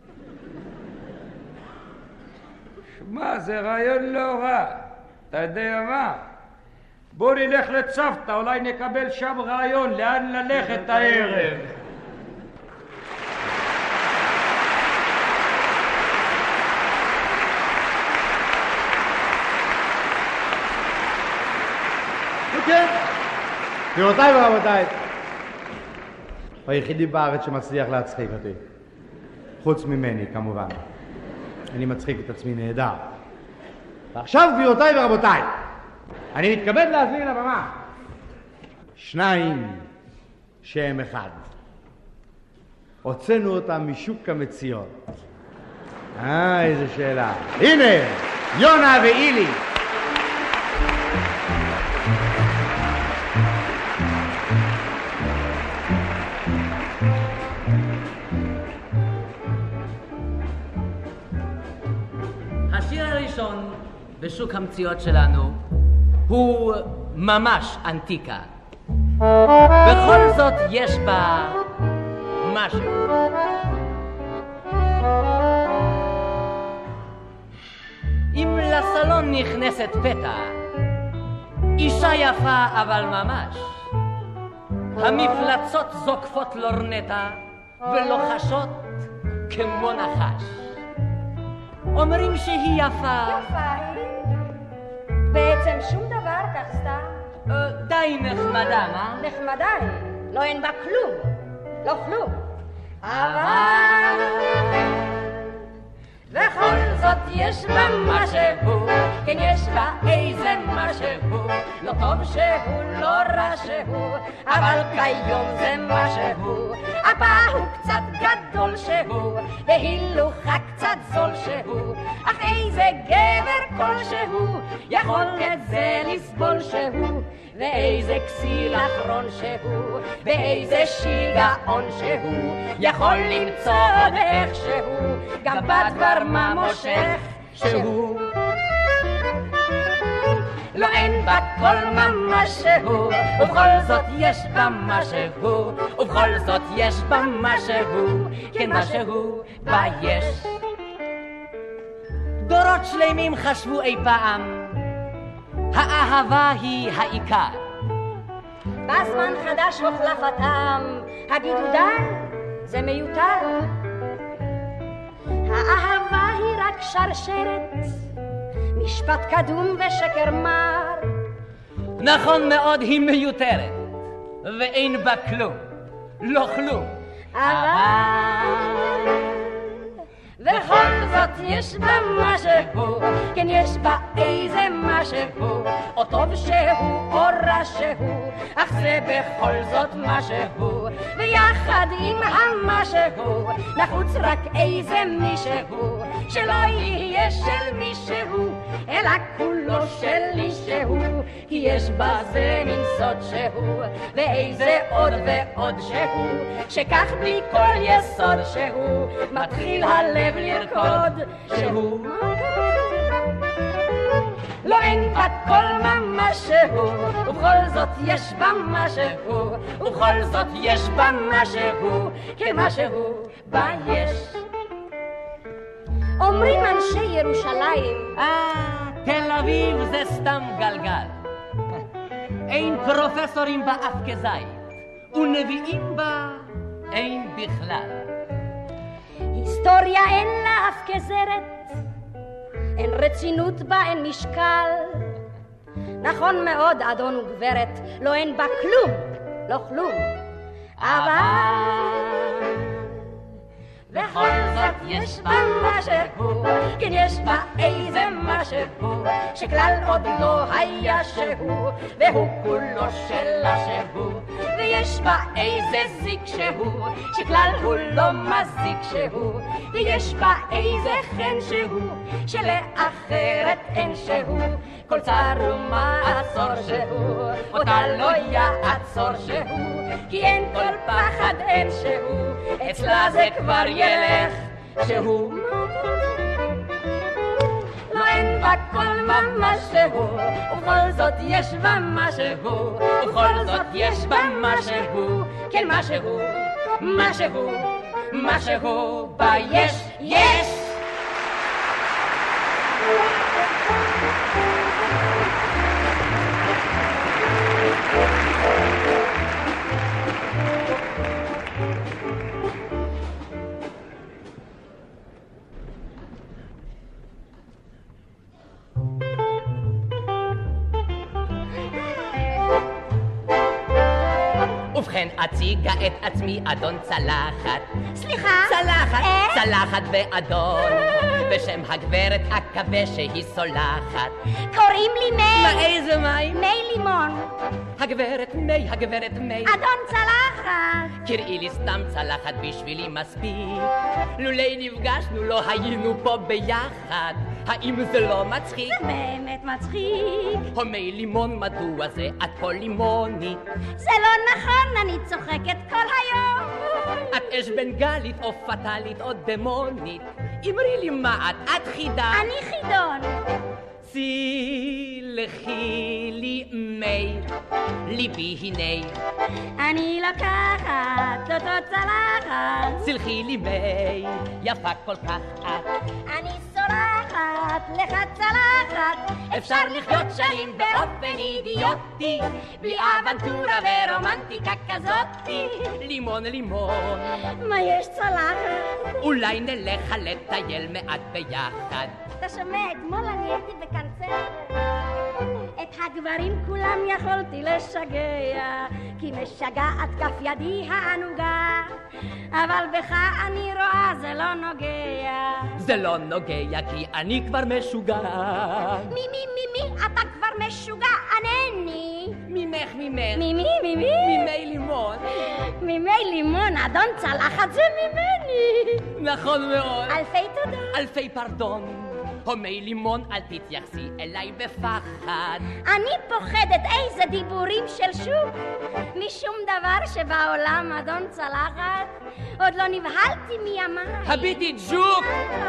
שמע, זה רעיון לא רע. אתה יודע מה? בוא נלך לצוותא, אולי נקבל שם רעיון לאן ללכת הערב. כן, גבירותיי ורבותיי, היחידי בארץ שמצליח להצחיק אותי, חוץ ממני כמובן. אני מצחיק את עצמי נהדר. ועכשיו גבירותיי ורבותיי, אני מתכבד להזמין לבמה שניים שהם אחד. הוצאנו אותם משוק המציאות. אה, איזה שאלה. הנה, יונה ואילי. השיר הראשון בשוק המציאות שלנו הוא ממש אנטיקה. בכל זאת יש בה משהו. אם לסלון נכנסת פתע, אישה יפה אבל ממש, המפלצות זוקפות לורנטה ולוחשות כמו נחש. אומרים שהיא יפה. יפה היא? בעצם שום דבר כך סתם. די נחמדה, מה? נחמדה היא. לא אין בה כלום. לא כלום. אבל... וכל זאת יש בה משהו, כן יש בה איזה משהו, לא טוב שהוא, לא רע שהוא, אבל כיום זה משהו, אבא הוא קצת גדול שהוא, והילוך קצת זול שהוא, אך איזה גבר כלשהו יכול את זה לסבול שהוא, ואיזה כסיל אחרון שהוא, ואיזה שיגעון שהוא יכול למצוא עוד איך שהוא, גם בדבר מה מושך שהוא. לא אין בה כל ממש שהוא, ובכל זאת יש בה משהו, ובכל זאת יש בה משהו, כן משהו בה יש. דורות שלמים חשבו אי פעם, האהבה היא העיקר. בזמן חדש הוחלפתם, הגידודן זה מיותר. האהבה היא רק שרשרת, משפט קדום ושקר מר. נכון מאוד, היא מיותרת, ואין בה כלום, לא כלום. אבל וכל זאת יש בה משהו, כן יש בה איזה משהו, או טוב שהוא או רע שהוא, אך זה בכל זאת משהו, ויחד עם המשהו נחוץ רק איזה מישהו, שלא יהיה של מישהו אלא כולו שלי שהוא, כי יש בזה מין סוד שהוא, ואיזה עוד ועוד שהוא, שכך בלי כל יסוד שהוא מתחיל הלב לרקוד שהוא. לא אין בה כל משהו, ובכל זאת יש בה משהו, ובכל זאת יש בה משהו, כמשהו בה יש. אומרים אנשי ירושלים, אה, תל אביב זה סתם גלגל. אין פרופסורים בה אף כזית, ונביאים בה אין בכלל. היסטוריה אין לה אף כזרת, אין רצינות בה, אין משקל. נכון מאוד, אדון וגברת, לא אין בה כלום, לא כלום. אבל בכל זאת יש בה משהו, כן יש בה איזה משהו, שכלל עוד לא היה שהוא, והוא כולו שלה שהוא, ויש בה איזה זיק שהוא, שכלל הוא לא מזיק שהוא, ויש בה איזה חן שהוא, שלאחרת אין שהוא, כל צר ומעצור שהוא, אותה לא יעצור שהוא, כי אין כל פחד אין שהוא, אצלה זה כבר ילך שהוא. לא אין בה כל ממש שהוא, ובכל זאת יש בה משהו, ובכל זאת יש בה משהו, כן משהו, משהו, משהו בה יש, יש. ובכן אציגה את עצמי אדון צלחת. סליחה? צלחת, אה? צלחת ואדון, בשם הגברת אקווה שהיא סולחת. קוראים לי מי. מה איזה מים? מי לימון. הגברת מי, הגברת מי. אדון צלחת. קראי לי סתם צלחת בשבילי מספיק. לולי נפגשנו לא היינו פה ביחד. האם זה לא מצחיק? זה באמת מצחיק. הומי לימון, מדוע זה את פה לימונית? זה לא נכון, אני צוחקת כל היום. את אש בנגלית או פטלית או דמונית? אמרי לי מה את, את חידה? אני חידון. סלחי לי מי, ליבי הנה. אני לוקחת אותו צלחת. סלחי לי מי, יפה כל כך את. אני סולחת לך צלחת. אפשר לחיות שנים באופן אידיוטי, בלי אבנטורה ורומנטיקה כזאתי. לימון לימון, מה יש צלחת? אולי נלך לטייל מעט ביחד. אתה שומע, אתמול אני הייתי בקנצרת. את הגברים כולם יכולתי לשגע, כי משגעת כף ידי הענוגה, אבל בך אני רואה זה לא נוגע. זה לא נוגע כי אני כבר משוגע. מי מי מי מי אתה כבר משוגע? ענני. ממך ממך. ממי ממי? ממי לימון. ממי לימון, אדון צלחת זה ממני. נכון מאוד. אלפי תודות. אלפי פרדון. הומי לימון, אל תתייחסי אליי בפחד. אני פוחדת איזה דיבורים של שוק, משום דבר שבעולם אדון צלחת, עוד לא נבהלתי מימיי. הביטי ג'וק!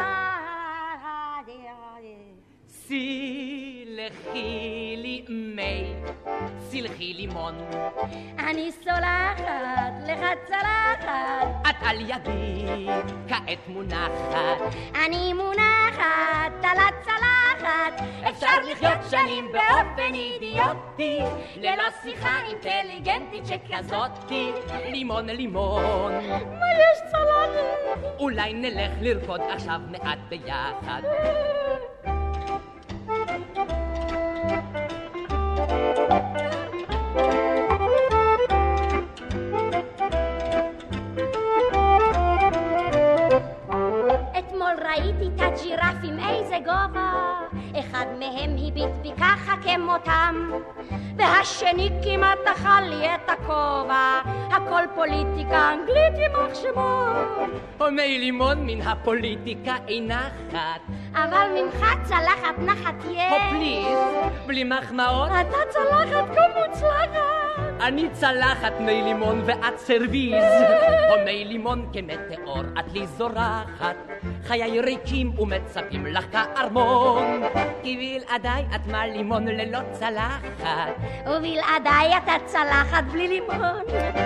סלחי לי מי, סלחי לימון. אני סולחת לך צלחת. את על ידי כעת מונחת. אני מונחת על הצלחת. אפשר לחיות שנים באופן אידיוטי, ללא שיחה אינטליגנטית שכזאתי. לימון לימון, מה יש צלחת? אולי נלך לרקוד עכשיו מעט ביחד. אתמול ראיתי את הג'ירפים איזה גובה, אחד מהם הביט בי ככה כמותם, והשני כמעט אכל לי את הכובע. הכל פוליטיקה אנגלית עם מחשבות. הומי לימון, מן הפוליטיקה אינה חת, אבל ממך צלחת נחת יש. הו פליז, בלי מחמאות. אתה צלחת כה מוצלחת. אני צלחת מי לימון ואת סרוויז. הומי לימון כמטאור את לי זורחת, חיי ריקים ומצפים לך כארמון. כי בלעדיי את מה לימון ללא צלחת, ובלעדיי אתה צלחת בלי לימון.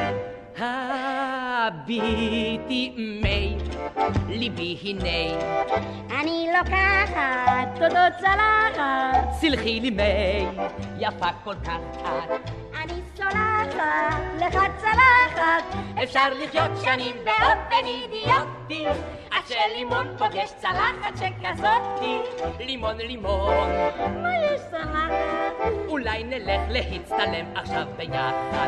הביטי מי, ליבי הנה. אני לוקחת תודות צלחת. סלחי לי מי, יפה כל כך את. אני סולחת לך צלחת. אפשר לחיות שנים באופן אידיוטי, עד שלימון פוגש צלחת שכזאתי. לימון לימון, מה יש צלחת? אולי נלך להצטלם עכשיו ביחד.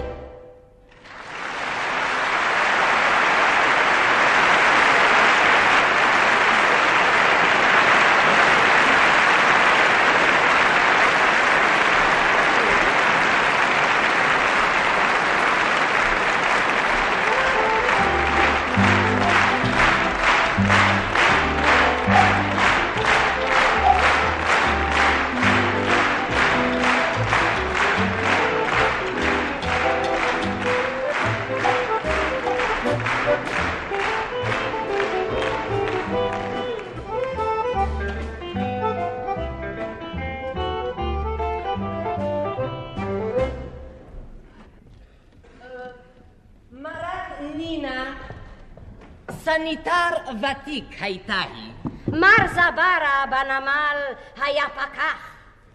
סניטר ותיק הייתה היא. מר זברה בנמל היה פקח.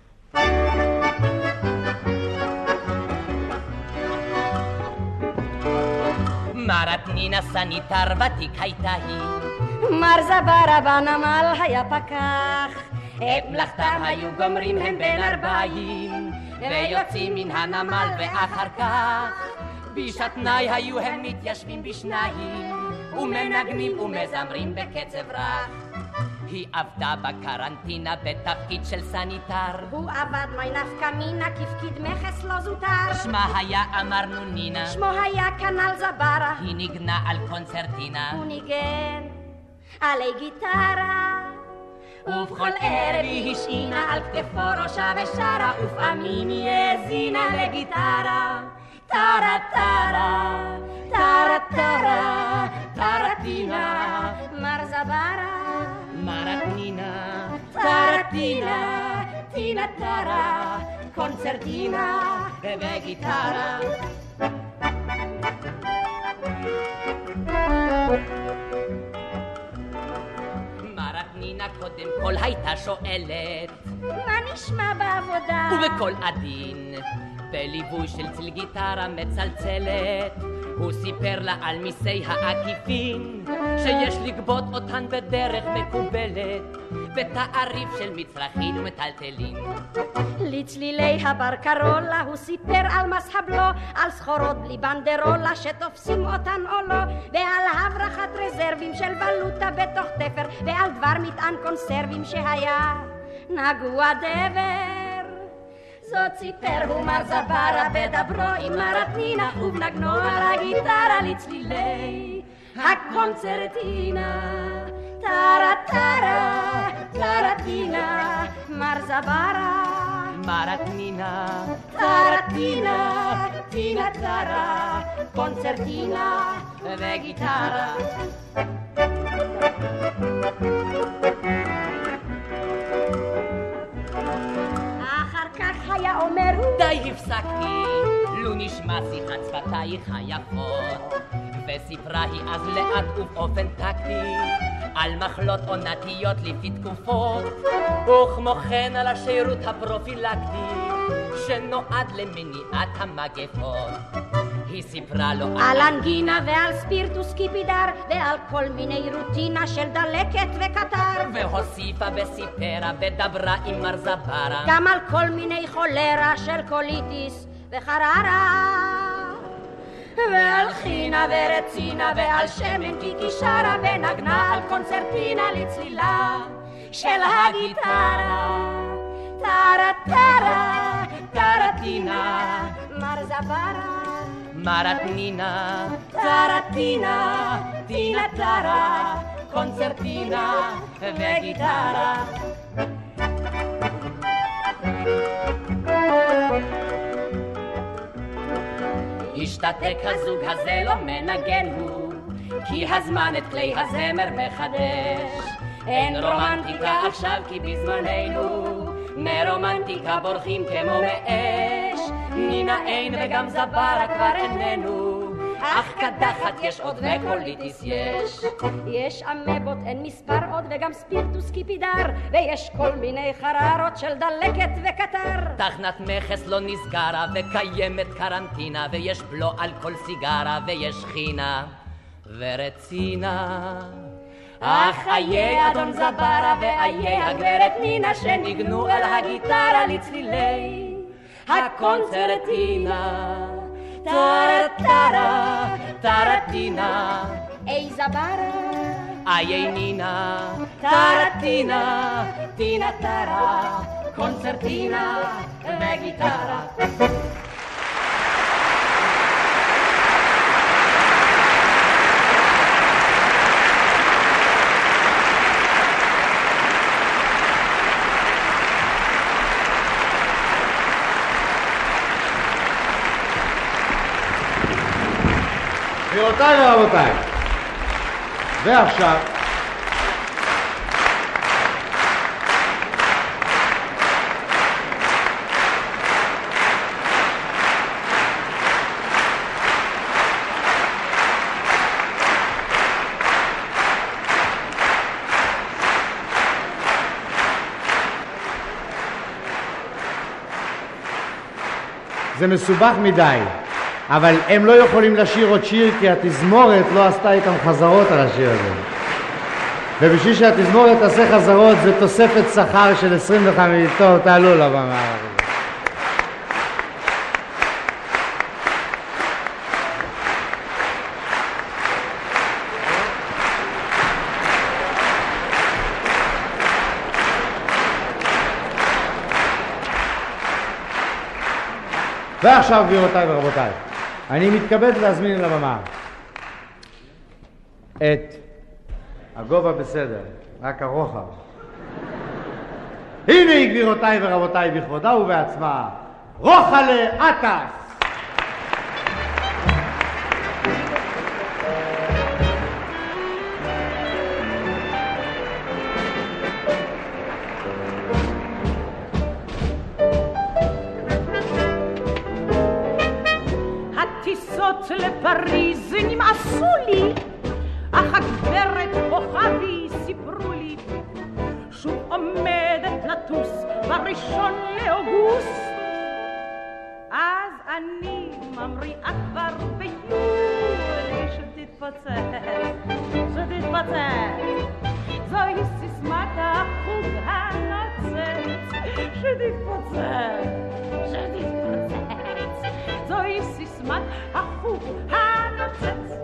מרת נינה סניטר ותיק הייתה היא. מר זברה בנמל היה פקח. את מלאכתם היו גומרים הם בין ארבעים, ויוצאים מן הנמל ואחר כך בשתנאי היו הם מתיישבים בשניים, ומנגנים ומזמרים בקצב רך. היא עבדה בקרנטינה בתפקיד של סניטר. הוא עבד מי נפקא מינה כפקיד מכס לא זוטר. שמה היה אמרנו נינה, שמו היה כנל זברה. היא ניגנה על קונצרטינה, הוא ניגן עלי גיטרה, ובכל ערב היא השעינה על כתפו ראשה ושרה, ופעמים היא האזינה לגיטרה. טרה טרה, טרה טרה, טרטינה. מר זברה, מרטינה, טרטינה, טינה טרה, קונצרטינה ובגיטרה. מרטינה קודם כל הייתה שואלת, מה נשמע בעבודה? ובקול עדין, בליווי של צל גיטרה מצלצלת, הוא סיפר לה על מיסי העקיפין, שיש לגבות אותן בדרך מקובלת, בתעריף של מצרכים ומטלטלים. לצלילי הבר קרולה הוא סיפר על מס הבלו, על סחורות בלי בנדרולה שתופסים אותן או לא, ועל הברחת רזרבים של ולוטה בתוך תפר, ועל דבר מטען קונסרבים שהיה נגוע דבר. זאת סיפר הוא מר זברה בדברו עם מרטינה, ובנגנו על הגיטרה לצלילי הקונצרטינה, טרה טרה, טרטינה, מרזברה, מרטנינה, טרטינה, טינה טרה, קונצרטינה וגיטרה. אחר כך היה אומר הוא, די הפסקתי, לו נשמע שיחת שפתייך היפות, וסיפרה היא אז לאט ובאופן טקטי על מחלות עונתיות לפי תקופות, וכמו כן על השירות הפרופילקטי שנועד למניעת המגפות. היא סיפרה לו על אנגינה ועל ספירטוס קיפידר ועל כל מיני רוטינה של דלקת וקטר, והוסיפה וסיפרה ודברה עם מרזברה גם על כל מיני חולרה של קוליטיס וחררה, ועל חינה ורצינה ועל שמן קיקי שרה ונגנה על קונצרטינה לצלילה של הגיטרה. טרה טרה, טרטינה, מרזברה, מרטנינה, טרטינה, טינה טרה, קונצרטינה וגיטרה. השתתק הזוג הזה לא מנגן הוא, כי הזמן את כלי הזמר מחדש. אין רומנטיקה עכשיו כי בזמננו מרומנטיקה בורחים כמו מאש. נינה אין וגם זברה כבר איננו, אך קדחת יש עוד וקוליטיס יש. יש אמבות אין מספר עוד וגם ספירטוס קיפידר, ויש כל מיני חררות של דלקת וקטר. תחנת מכס לא נסגרה וקיימת קרנטינה, ויש בלו על כל סיגרה ויש חינה ורצינה. אך איי אדון זברה ואיי הגברת נינה שניגנו אל הגיטרה לצלילי הקונצרטינה. טרה טרה, טרטינה, איי זברה, איי נינה, טרטינה, טינה טרה, קונצרטינה וגיטרה. גבירותיי ורבותיי, ועכשיו זה מסובך מדי, אבל הם לא יכולים לשיר עוד שיר כי התזמורת לא עשתה איתם חזרות על השיר הזה. ובשביל שהתזמורת תעשה חזרות זה תוספת שכר של עשרים וחמש. טוב, תעלו לבמה. ועכשיו גבירותיי ורבותיי, אני מתכבד להזמין לבמה את הגובה בסדר, רק הרוחב. הנה היא גבירותיי ורבותיי בכבודה ובעצמה, רוחלה עטס. לפריז נמאסו לי, אך הגברת כוכבי סיפרו לי שוב עומדת לטוס בראשון לאוגוסט. אז אני ממריאה כבר ביולי שתתפוצץ, שתתפוצץ. זוהי סיסמת החוג הנוצץ, שתתפוצץ, שתתפוצץ. זוהי סיסמת החוג הנוצץ.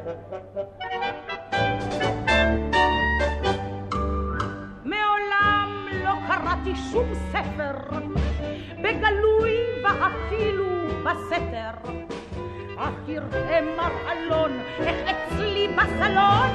מעולם לא קראתי שום ספר, בגלוי ואפילו בסתר, אך יראה מר אלון איך אצלי בסלון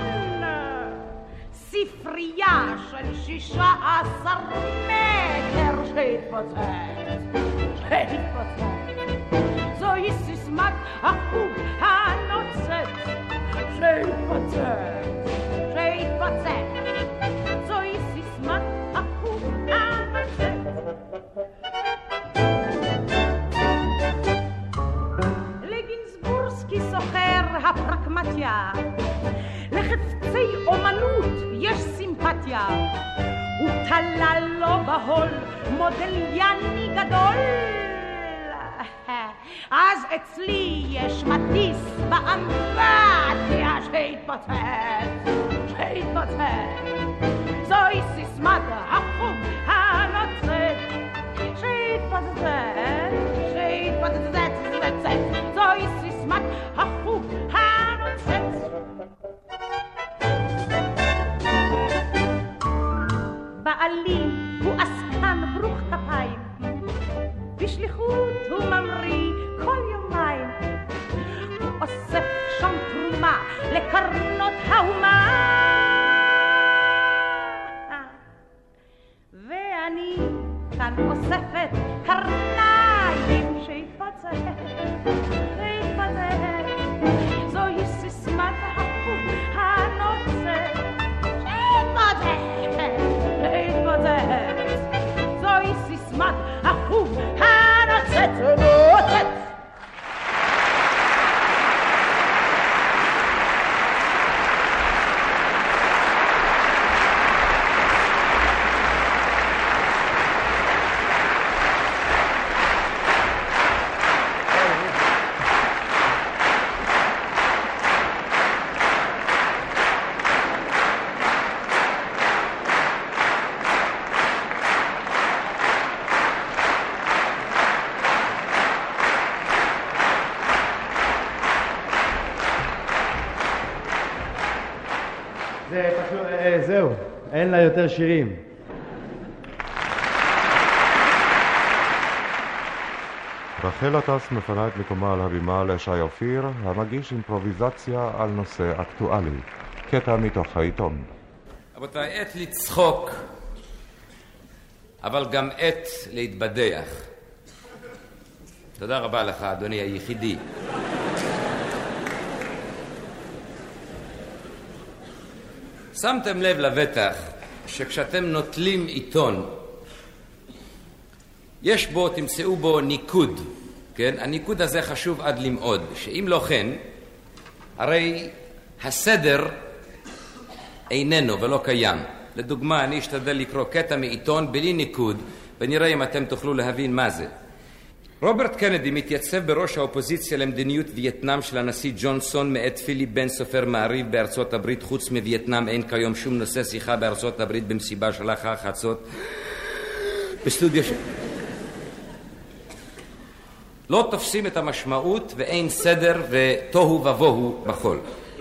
ספרייה של שישה עשר מטר שהתפוצץ, שהתפוצץ. זוהי סיסמת החוג הנוצץ, שהתפוצץ, שהתפוצץ. זוהי סיסמת החוג הנוצץ. לגינזבורסקי סוחר הפרקמטיה, לחפצי אומנות יש סימפתיה, הוא תלה לו בהול מודליאני גדול. אז אצלי יש מטיס באמבטיה שהתפוצץ, שהתפוצץ. זוהי סיסמת החוג הנוצץ, שהתפוצץ, שהתפוצץ. זוהי סיסמת החוג הנוצץ. בעלי הוא עסקן ברוך כפיים, בשליחות הוא ממריא כל יומיים, הוא אוסף שם תרומה לקרנות האומה, ואני כאן אוספת קרניים שהתפוצץ, שהתפוצץ. זוהי סיסמת החוג הנוצץ, שהתפוצץ, שהתפוצץ. זוהי סיסמת החוג הנוצץ, נוצץ. זהו, אין לה יותר שירים. רחל עטס מפנה את מקומה על הבימה לשי אופיר, המגיש אימפרוביזציה על נושא אקטואלי. קטע מתוך העיתון. רבותיי, עת לצחוק, אבל גם עת להתבדח. תודה רבה לך, אדוני היחידי. שמתם לב לבטח שכשאתם נוטלים עיתון, יש בו, תמצאו בו ניקוד, כן? הניקוד הזה חשוב עד למעוד, שאם לא כן, הרי הסדר איננו ולא קיים. לדוגמה, אני אשתדל לקרוא קטע מעיתון בלי ניקוד, ונראה אם אתם תוכלו להבין מה זה. רוברט קנדי מתייצב בראש האופוזיציה למדיניות וייטנאם של הנשיא ג'ונסון מאת פיליפ בן סופר מעריב בארצות הברית. חוץ מווייטנאם אין כיום שום נושא שיחה בארצות הברית במסיבה של החצות בסטודיו ש... לא תופסים את המשמעות ואין סדר ותוהו ובוהו בחול.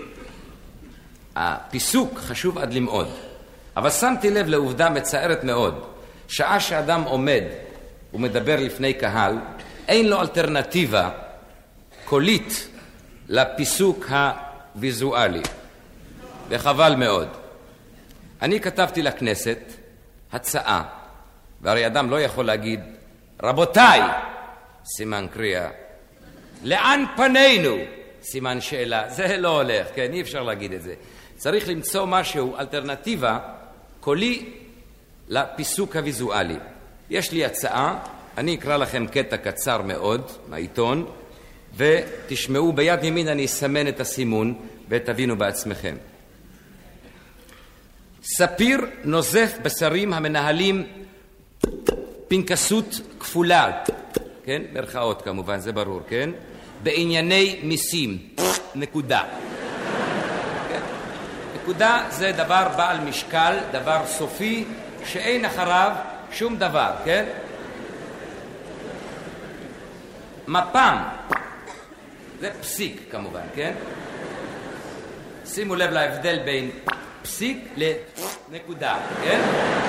הפיסוק חשוב עד למעוד, אבל שמתי לב לעובדה מצערת מאוד. שעה שאדם עומד ומדבר לפני קהל, אין לו אלטרנטיבה קולית לפיסוק הוויזואלי, וחבל מאוד. אני כתבתי לכנסת הצעה, והרי אדם לא יכול להגיד רבותיי סימן קריאה, לאן פנינו סימן שאלה, זה לא הולך, כן, אי אפשר להגיד את זה. צריך למצוא משהו, אלטרנטיבה קולי לפיסוק הוויזואלי. יש לי הצעה, אני אקרא לכם קטע קצר מאוד מהעיתון, ותשמעו ביד ימין, אני אסמן את הסימון ותבינו בעצמכם. ספיר נוזף בשרים המנהלים פנקסות כפולה, כן? מרכאות כמובן, זה ברור, כן? בענייני מיסים, נקודה. כן? נקודה זה דבר בעל משקל, דבר סופי, שאין אחריו שום דבר, כן? מפם, זה פסיק כמובן, כן? שימו לב להבדל בין פסיק לנקודה, כן?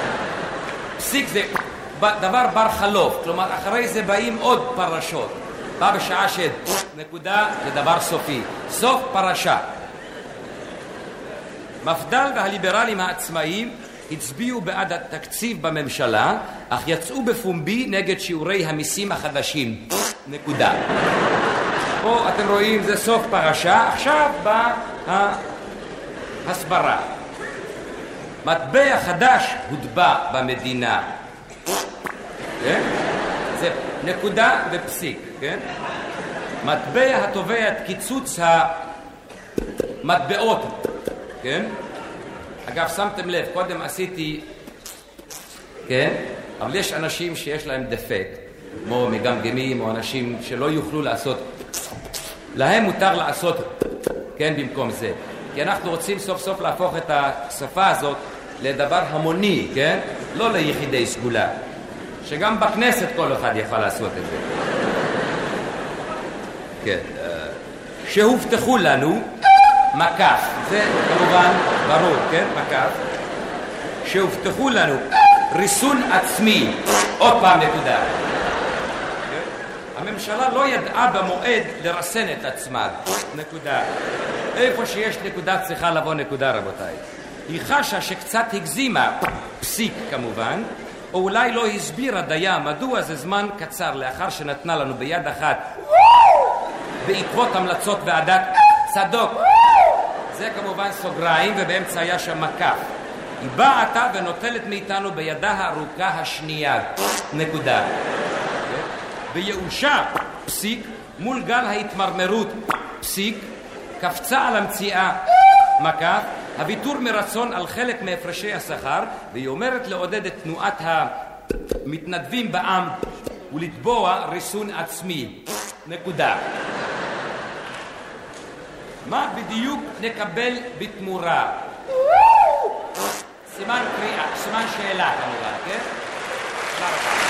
פסיק זה דבר בר חלוף, כלומר אחרי זה באים עוד פרשות. בא בשעה ש... נקודה לדבר סופי. סוף פרשה. מפד"ל והליברלים העצמאיים הצביעו בעד התקציב בממשלה, אך יצאו בפומבי נגד שיעורי המיסים החדשים. נקודה. פה אתם רואים, זה סוף פרשה. עכשיו בא ההסברה. מטבע חדש הוטבע במדינה. כן? זה נקודה ופסיק, כן? מטבע התובע את קיצוץ המטבעות, כן? אגב, שמתם לב, קודם עשיתי, כן? אבל יש אנשים שיש להם דפקט, כמו מגמגמים או אנשים שלא יוכלו לעשות, להם מותר לעשות, כן, במקום זה. כי אנחנו רוצים סוף סוף להפוך את השפה הזאת לדבר המוני, כן? לא ליחידי סגולה. שגם בכנסת כל אחד יכול לעשות את זה. כן. שהובטחו לנו, מקף, זה כמובן ברור, כן? מקף. שהובטחו לנו ריסון עצמי, עוד פעם נקודה. הממשלה לא ידעה במועד לרסן את עצמה, נקודה. איפה שיש נקודה צריכה לבוא נקודה, רבותיי. היא חשה שקצת הגזימה, פסיק כמובן, או אולי לא הסבירה דייה מדוע זה זמן קצר לאחר שנתנה לנו ביד אחת בעקבות המלצות ועדת צדוק. זה כמובן סוגריים ובאמצע היה שם מקף. היא באה עתה ונוטלת מאיתנו בידה הארוכה השנייה, נקודה. ביאושה, פסיק, מול גל ההתמרמרות, פסיק, קפצה על המציאה, מקף, הוויתור מרצון על חלק מהפרשי השכר, והיא אומרת לעודד את תנועת המתנדבים בעם ולתבוע ריסון עצמי, נקודה. מה בדיוק נקבל בתמורה? סימן קריאה, סימן שאלה כמובן, כן? תודה רבה.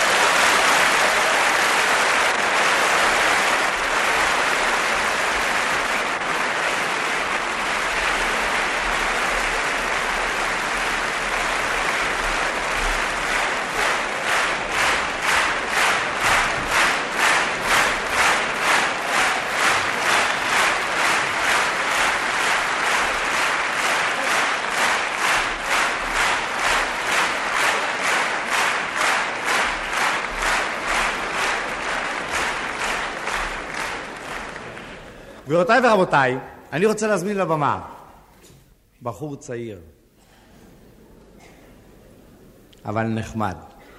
גבירותיי ורבותיי, אני רוצה להזמין לבמה בחור צעיר, אבל נחמד.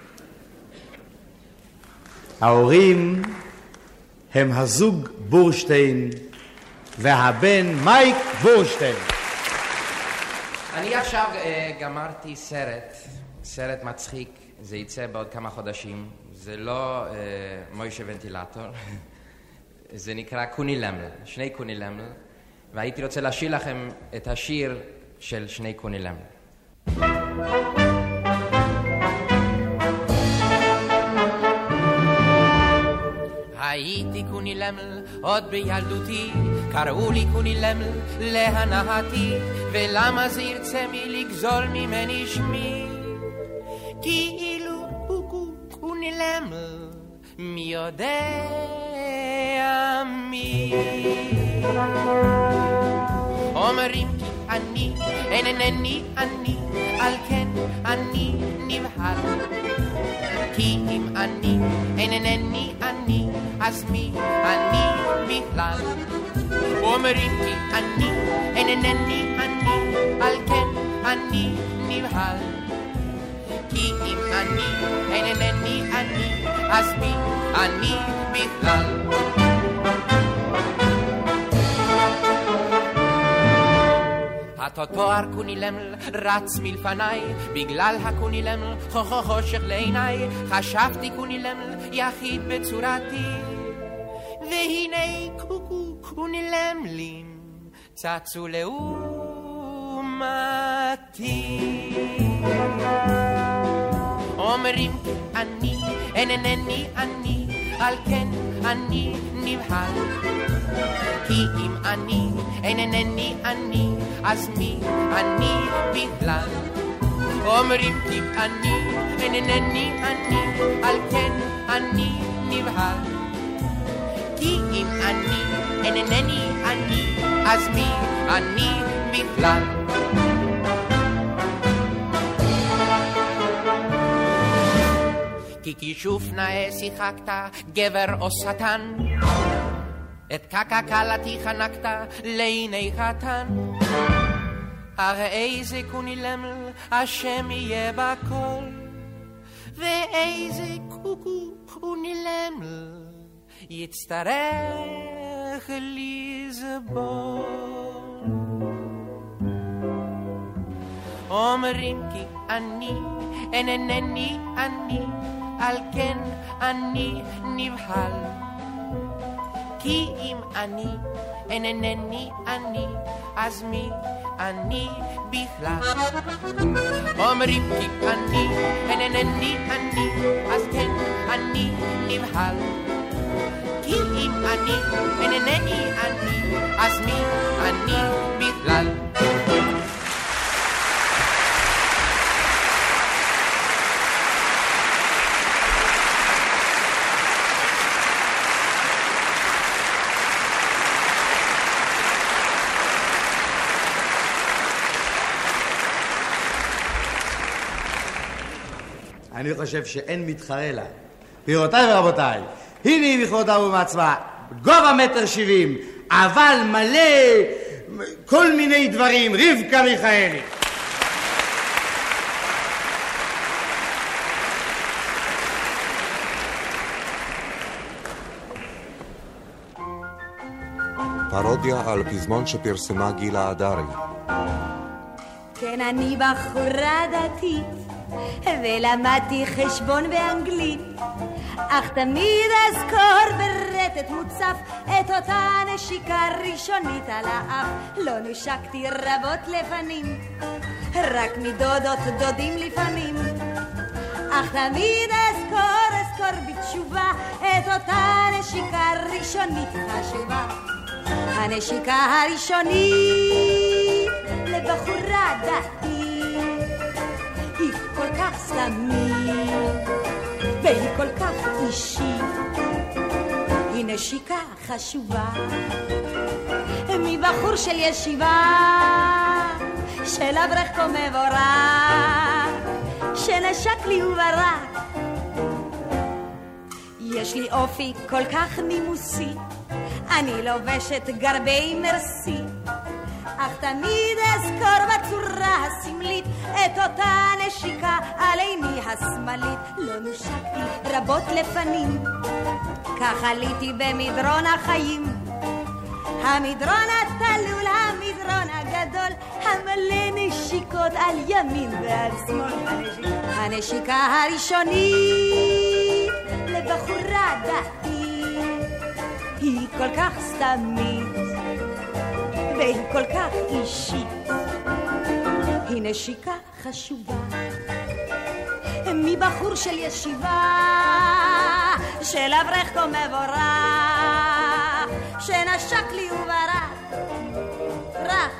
ההורים הם הזוג בורשטיין והבן מייק בורשטיין. אני עכשיו uh, גמרתי סרט, סרט מצחיק, זה יצא בעוד כמה חודשים. זה לא uh, מוישה ונטילטור. זה נקרא קוני למל, שני קוני למל, והייתי רוצה לשיר לכם את השיר של שני קוני למל. הייתי קוני למל עוד בילדותי, קראו לי קוני למל להנאתי, ולמה זה ירצה מי לגזול ממני שמי? כאילו הוא קוני למל, מי יודע מי? אומרים כי אני אינני אני, על כן אני נבהל, כי אם אני אינני אני, אז מי אני בכלל? אומרים כי אני אינני אני, על כן אני נבהל, כי אם אני אינני אני, אז מי אני בכלל? התותואר קוני למל רץ מלפניי, בגלל הקוני למל חושך לעיניי, חשבתי קוני למל יחיד בצורתי, והנה קוקו קוני למלים צצו לעומתי. אומרים אני אינני אני, על כן אני נבהל, כי אם אני אינני אני, אז מי אני בכלל? אומרים כי אני אינני אני, על כן אני נבהל, כי אם אני אינני אני, אז מי אני בכלל? כי כישוף נאה שיחקת, גבר או שטן, את קקה קלתי חנקת לעיני חתן. הרי איזה קונילמל השם יהיה בכל, ואיזה קוקו קונילמל יצטרך לסבול. אומרים כי אני אינני אני, על כן אני נבהל. כי אם אני אינני אני, אז מי אני בכלל? אומרים כי אני אינני אני, אז כן אני נבהל. כי אם אני אינני אני, אז מי אני בכלל? אני חושב שאין מתחרה לה. גבירותיי ורבותיי, הנה בכבודה ובעצמה, גובה מטר שבעים, אבל מלא כל מיני דברים, רבקה מיכאלי. פרודיה על פזמון שפרסמה גילה עדרי. כן, אני בחורה דתית ולמדתי חשבון באנגלית, אך תמיד אזכור ברטט מוצף את אותה נשיקה ראשונית על האף. לא נשקתי רבות לפנים, רק מדודות דודים לפעמים, אך תמיד אזכור אזכור בתשובה את אותה נשיקה ראשונית חשובה. הנשיקה הראשונית לבחורה דתית היא כל כך סתמית והיא כל כך אישית, היא נשיקה חשובה מבחור של ישיבה, של אברך כה מבורך שנשק לי וברק. יש לי אופי כל כך נימוסי, אני לובשת גרבי מרסי, אך תמיד אזכור בצורה הסמלית את אותה נשיקה על עיני השמאלית. לא נושקתי רבות לפנים, כך עליתי במדרון החיים, המדרון התלול, המדרון הגדול, המלא נשיקות על ימין ועל שמאל. הנשיקה הראשונית לבחורה דתית היא כל כך סתמית והיא כל כך אישית, היא נשיקה חשובה מבחור של ישיבה, של אברך כה מבורך שנשק לי וברק רך.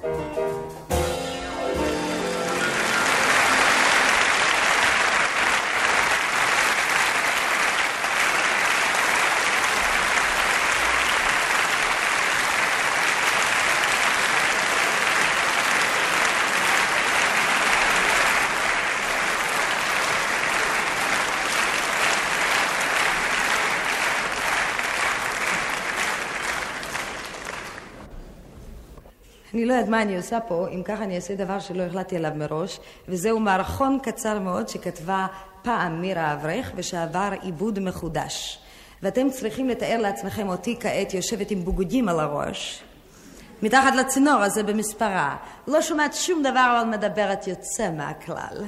אני לא יודעת מה אני עושה פה, אם ככה אני אעשה דבר שלא החלטתי עליו מראש, וזהו מערכון קצר מאוד שכתבה פעם מירה אברך ושעבר עיבוד מחודש. ואתם צריכים לתאר לעצמכם אותי כעת יושבת עם בוגדים על הראש, מתחת לצינור הזה במספרה. לא שומעת שום דבר אבל מדברת יוצא מהכלל.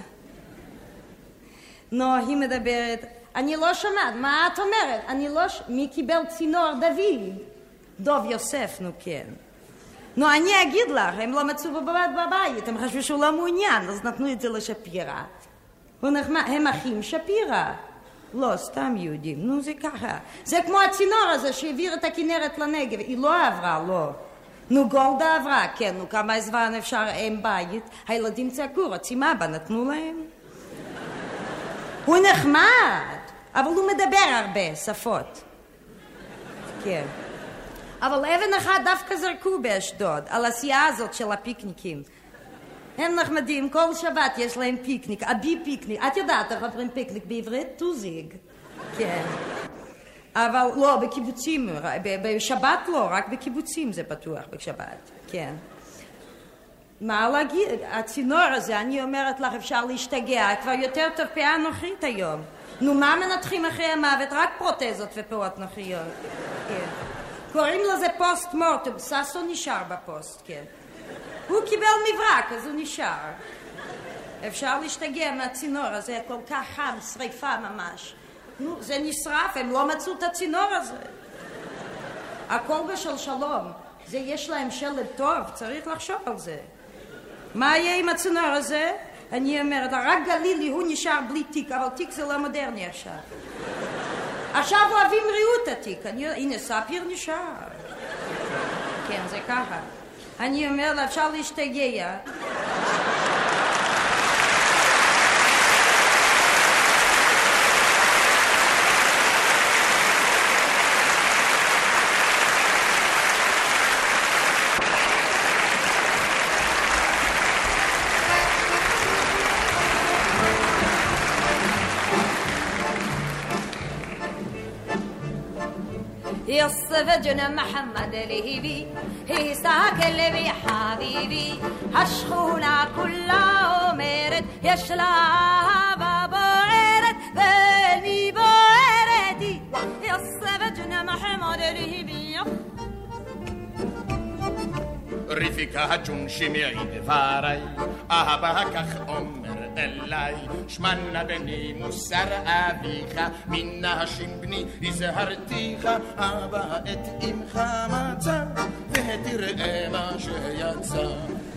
נו, היא מדברת, אני לא שומעת, מה את אומרת? אני לא ש... מי קיבל צינור? דוד. דוב יוסף, נו כן. נו, אני אגיד לך, הם לא מצאו בבית בבית, הם חשבו שהוא לא מעוניין, אז נתנו את זה לשפירה. הם אחים שפירה. לא, סתם יהודים, נו זה ככה. זה כמו הצינור הזה שהעביר את הכנרת לנגב, היא לא עברה, לא. נו, גולדה עברה, כן, נו, כמה זמן אפשר עם בית, הילדים צעקו, רוצים אבא, נתנו להם. הוא נחמד, אבל הוא מדבר הרבה שפות. כן. אבל אבן אחת דווקא זרקו באשדוד, על הסיעה הזאת של הפיקניקים. הם נחמדים, כל שבת יש להם פיקניק, אבי פיקניק. את יודעת איך אומרים פיקניק בעברית? טוזיג. כן. אבל לא, בקיבוצים, בשבת לא, רק בקיבוצים זה פתוח בשבת, כן. מה להגיד? הצינור הזה, אני אומרת לך, אפשר להשתגע, כבר יותר טוב פאה נוחית היום. נו, מה מנתחים אחרי המוות? רק פרוטזות ופאות נוחיות. כן. קוראים לזה פוסט מורטם, ססו נשאר בפוסט, כן. הוא קיבל מברק, אז הוא נשאר. אפשר להשתגע מהצינור הזה, כל כך חם, שריפה ממש. נו, זה נשרף, הם לא מצאו את הצינור הזה. הכל בשל שלום. זה יש להם שלד טוב, צריך לחשוב על זה. מה יהיה עם הצינור הזה? אני אומרת, רק גלילי הוא נשאר בלי תיק, אבל תיק זה לא מודרני עכשיו. עכשיו אוהבים ריאות התיק. אני... הנה, ספיר נשאר. כן, זה ככה. אני אומרת, אפשר להשתגע. يصف جن محمد لهبي هي ساكن بي حبيبي هشخونا كلها مرد يشلا بابا عرد بني باردي يصف جن محمد لهبي רבקה הג'ון שמעי דברי, אהבה כך אומר אליי, שמנה בני מוסר אביך, מן השים בני הזהרתיך, אבא את אמך מצא, ותראה מה שיצא.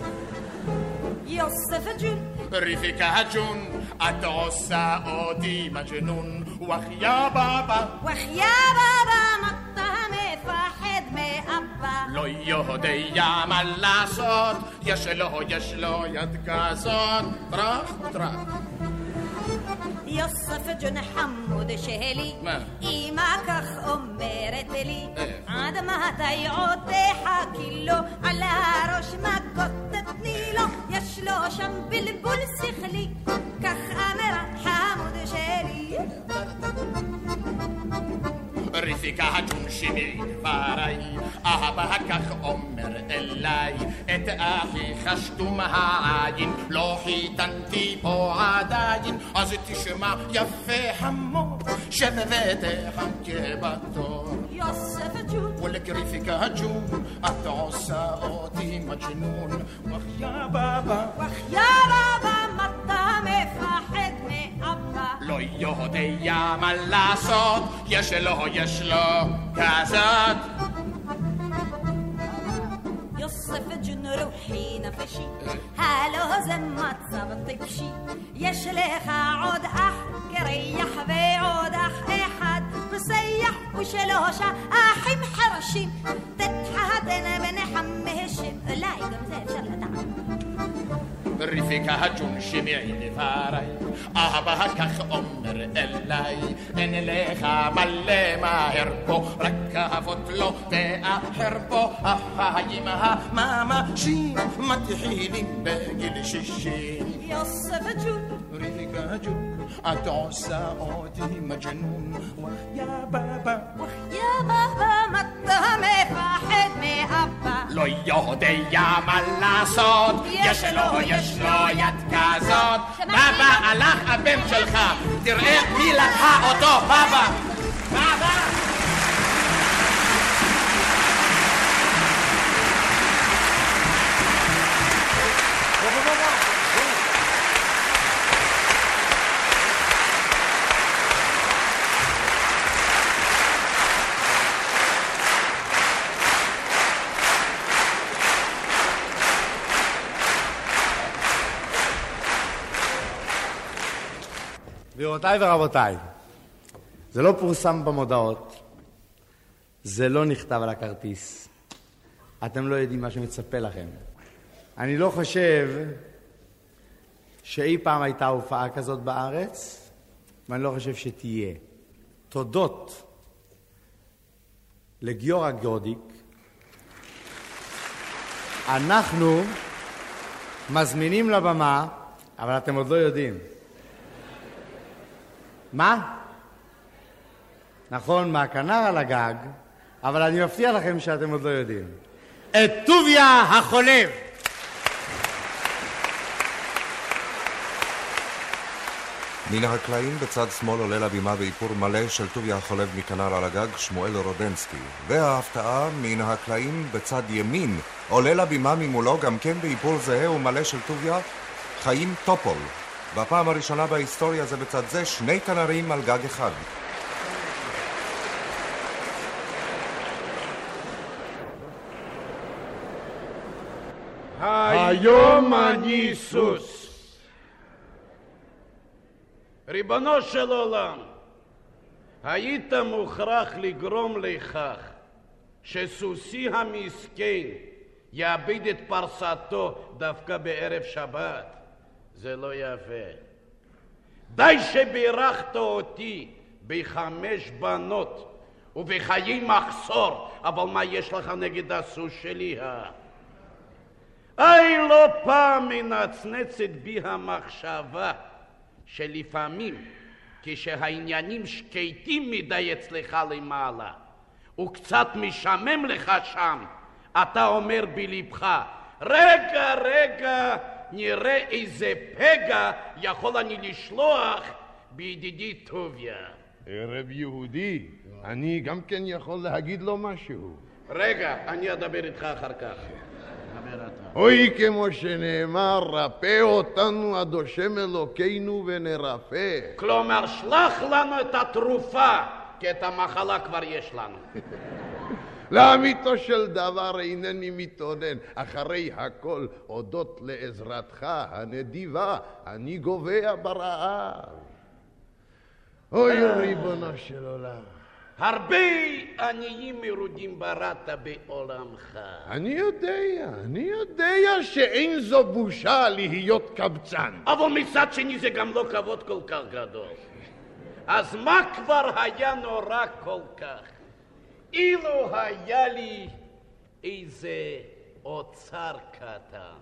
יוסף הג'ון רבקה הג'ון, את עושה אותי מג'נון, וחיה בבא וחיה בבא מתה מפחד מאבא לא יודע מה לעשות, יש לו, יש לו יד כזאת, טרח וטרח. יוסף ג'ון חמוד שלי, אמא כך אומרת לי, עד מתי עוד תחכי לו, על הראש מכות תתני לו, יש לו שם בלבול שכלי, כך אמרה חמוד שלי. רבקה הג'ון שמעי דברי, אהבה כך אומר אליי, את אחיך שתום העין, לא חיתנתי פה עדיין, אז תשמע יפה חמור, שב ותחכה בתור. יוסף הג'ון ולק רבקה הג'ון, את עושה אותי מג'נון, וחיה בבא וחיה בבא מתה מפחד מאבא לא יודע מה לעשות, יש לו, יש לו כזאת. יוסף ג'ון רוחי נפשי, הלא זה מצב טיפשי, יש לך עוד אח קרח ועוד אח אחד מסייח ושלושה אחים חרשים, תתחתן ביניהם השם, אולי גם זה אפשר לדעת. רבקה הג'ון שמעי דברי, אהבה כך אומר אליי, אין לך מלא מהר פה, רק אהבות לא תאחר פה, החיים הממשים מתחילים בגיל שישים. יוסף הג'ון רבקה הג'ון, את עושה אותי מג'נון, וחיה בבא וחיה בבא מתה מפחד מאבא לא יודע מה לעשות, יש לו, יש לו יד כזאת. בבא הלך הבן שלך, תראה מי לקחה אותו. בבא בבא גבירותיי ורבותיי, זה לא פורסם במודעות, זה לא נכתב על הכרטיס, אתם לא יודעים מה שמצפה לכם. אני לא חושב שאי פעם הייתה הופעה כזאת בארץ, ואני לא חושב שתהיה. תודות לגיורא גודיק, אנחנו מזמינים לבמה, אבל אתם עוד לא יודעים. מה? נכון, מהכנר על הגג, אבל אני מבטיח לכם שאתם עוד לא יודעים. את טוביה החולב! מן הקלעים בצד שמאל עולה לבימה באיפור מלא של טוביה החולב מכנר על הגג, שמואל רודנסקי. וההפתעה מן הקלעים בצד ימין עולה לבימה ממולו גם כן באיפור זהה ומלא של טוביה, חיים טופול. בפעם הראשונה בהיסטוריה זה בצד זה שני כנרים על גג אחד. היום אני סוס. ריבונו של עולם, היית מוכרח לגרום לכך שסוסי המסכן יאבד את פרסתו דווקא בערב שבת. זה לא יפה. די שבירכת אותי בחמש בנות ובחיי מחסור, אבל מה יש לך נגד הסוס שלי? איי, לא פעם מנצנצת בי המחשבה שלפעמים כשהעניינים שקטים מדי אצלך למעלה וקצת משמם לך שם, אתה אומר בלבך, רגע רגע נראה איזה פגע יכול אני לשלוח בידידי טוביה. ערב יהודי, אני גם כן יכול להגיד לו משהו. רגע, אני אדבר איתך אחר כך. אוי, כמו שנאמר, רפא אותנו עד השם אלוקינו ונרפא. כלומר, שלח לנו את התרופה, כי את המחלה כבר יש לנו. לאמיתו של דבר אינני מתעונן, אחרי הכל הודות לעזרתך הנדיבה אני גובע ברעב. אוי, ריבונו של עולם, הרבה עניים מרודים בראת בעולמך. אני יודע, אני יודע שאין זו בושה להיות קבצן. אבל מצד שני זה גם לא כבוד כל כך גדול. אז מה כבר היה נורא כל כך? אילו היה לי איזה אוצר קטן.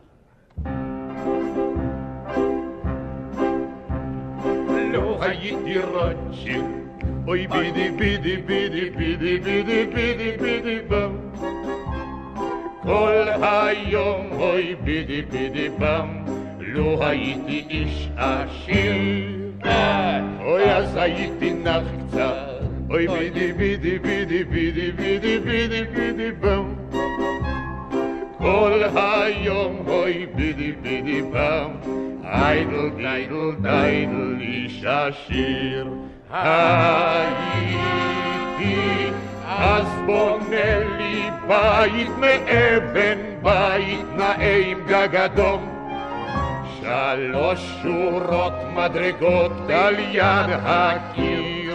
לא הייתי רוטשילד, אוי בידי בידי בידי בידי בידי בידי בידי בם, כל היום אוי בידי בידי בם, לא הייתי איש עשיר, אוי אז הייתי נח קצת, אוי בידי בידי בידי בידי בידי בידי בידי בם, כל היום אוי בידי בידי בם, איידל דיידל דיידל איש עשיר. הייתי אז בונה לי בית מאבן, בית נאה עם גג אדום, שלוש שורות מדרגות על יד הקיר,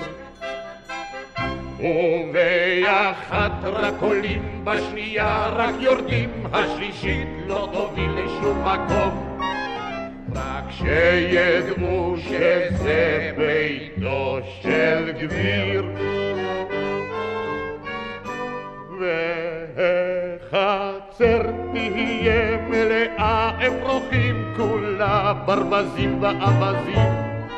ובאחת רק עולים, בשנייה רק יורדים, השלישית לא תוביל לשום מקום, רק שידעו שזה ביתו של גביר. והחצר תהיה מלאה אפרוחים, כולה ברווזים ואווזים,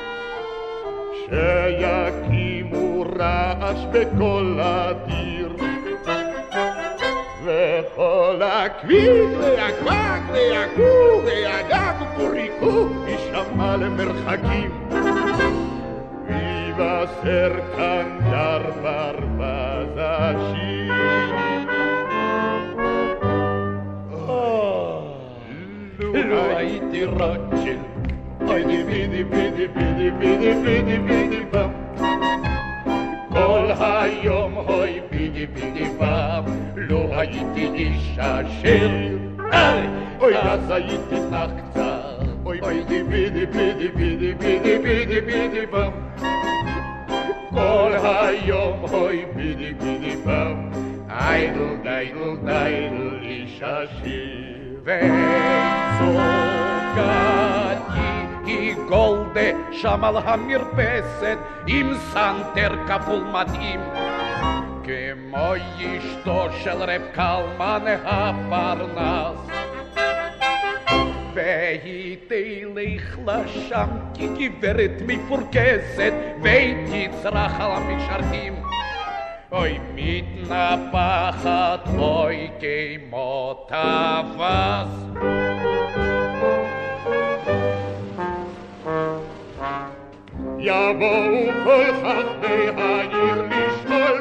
שיקימו רעש בכל הדיר, וכל הכביש והגג והגור והגג ופוריקו יישמע למרחקים, ויבשר כאן דר ברווז השיר. לו הייתי רוטשילד, אוי בידי בידי בידי בידי בידי בידי בם, כל היום אוי בידי בידי בם, לא הייתי איש עשיר, אוי אז הייתי נח קצת, אוי בידי בידי בידי בידי בידי בידי בידי בם, כל היום אוי בידי בידי בם, איידל דיידל דיידל איש עשיר. וזוגתי היא גולדה שם על המרפסת עם סנטר כפול מדהים, כמו אשתו של רב קלמן הפרנס. והיא תלך לשם כגברת מפורקסת ותצרח על המשרתים. אוי מתנפחת, אוי כמו טווס. יבואו כל חכמי העיר לשאול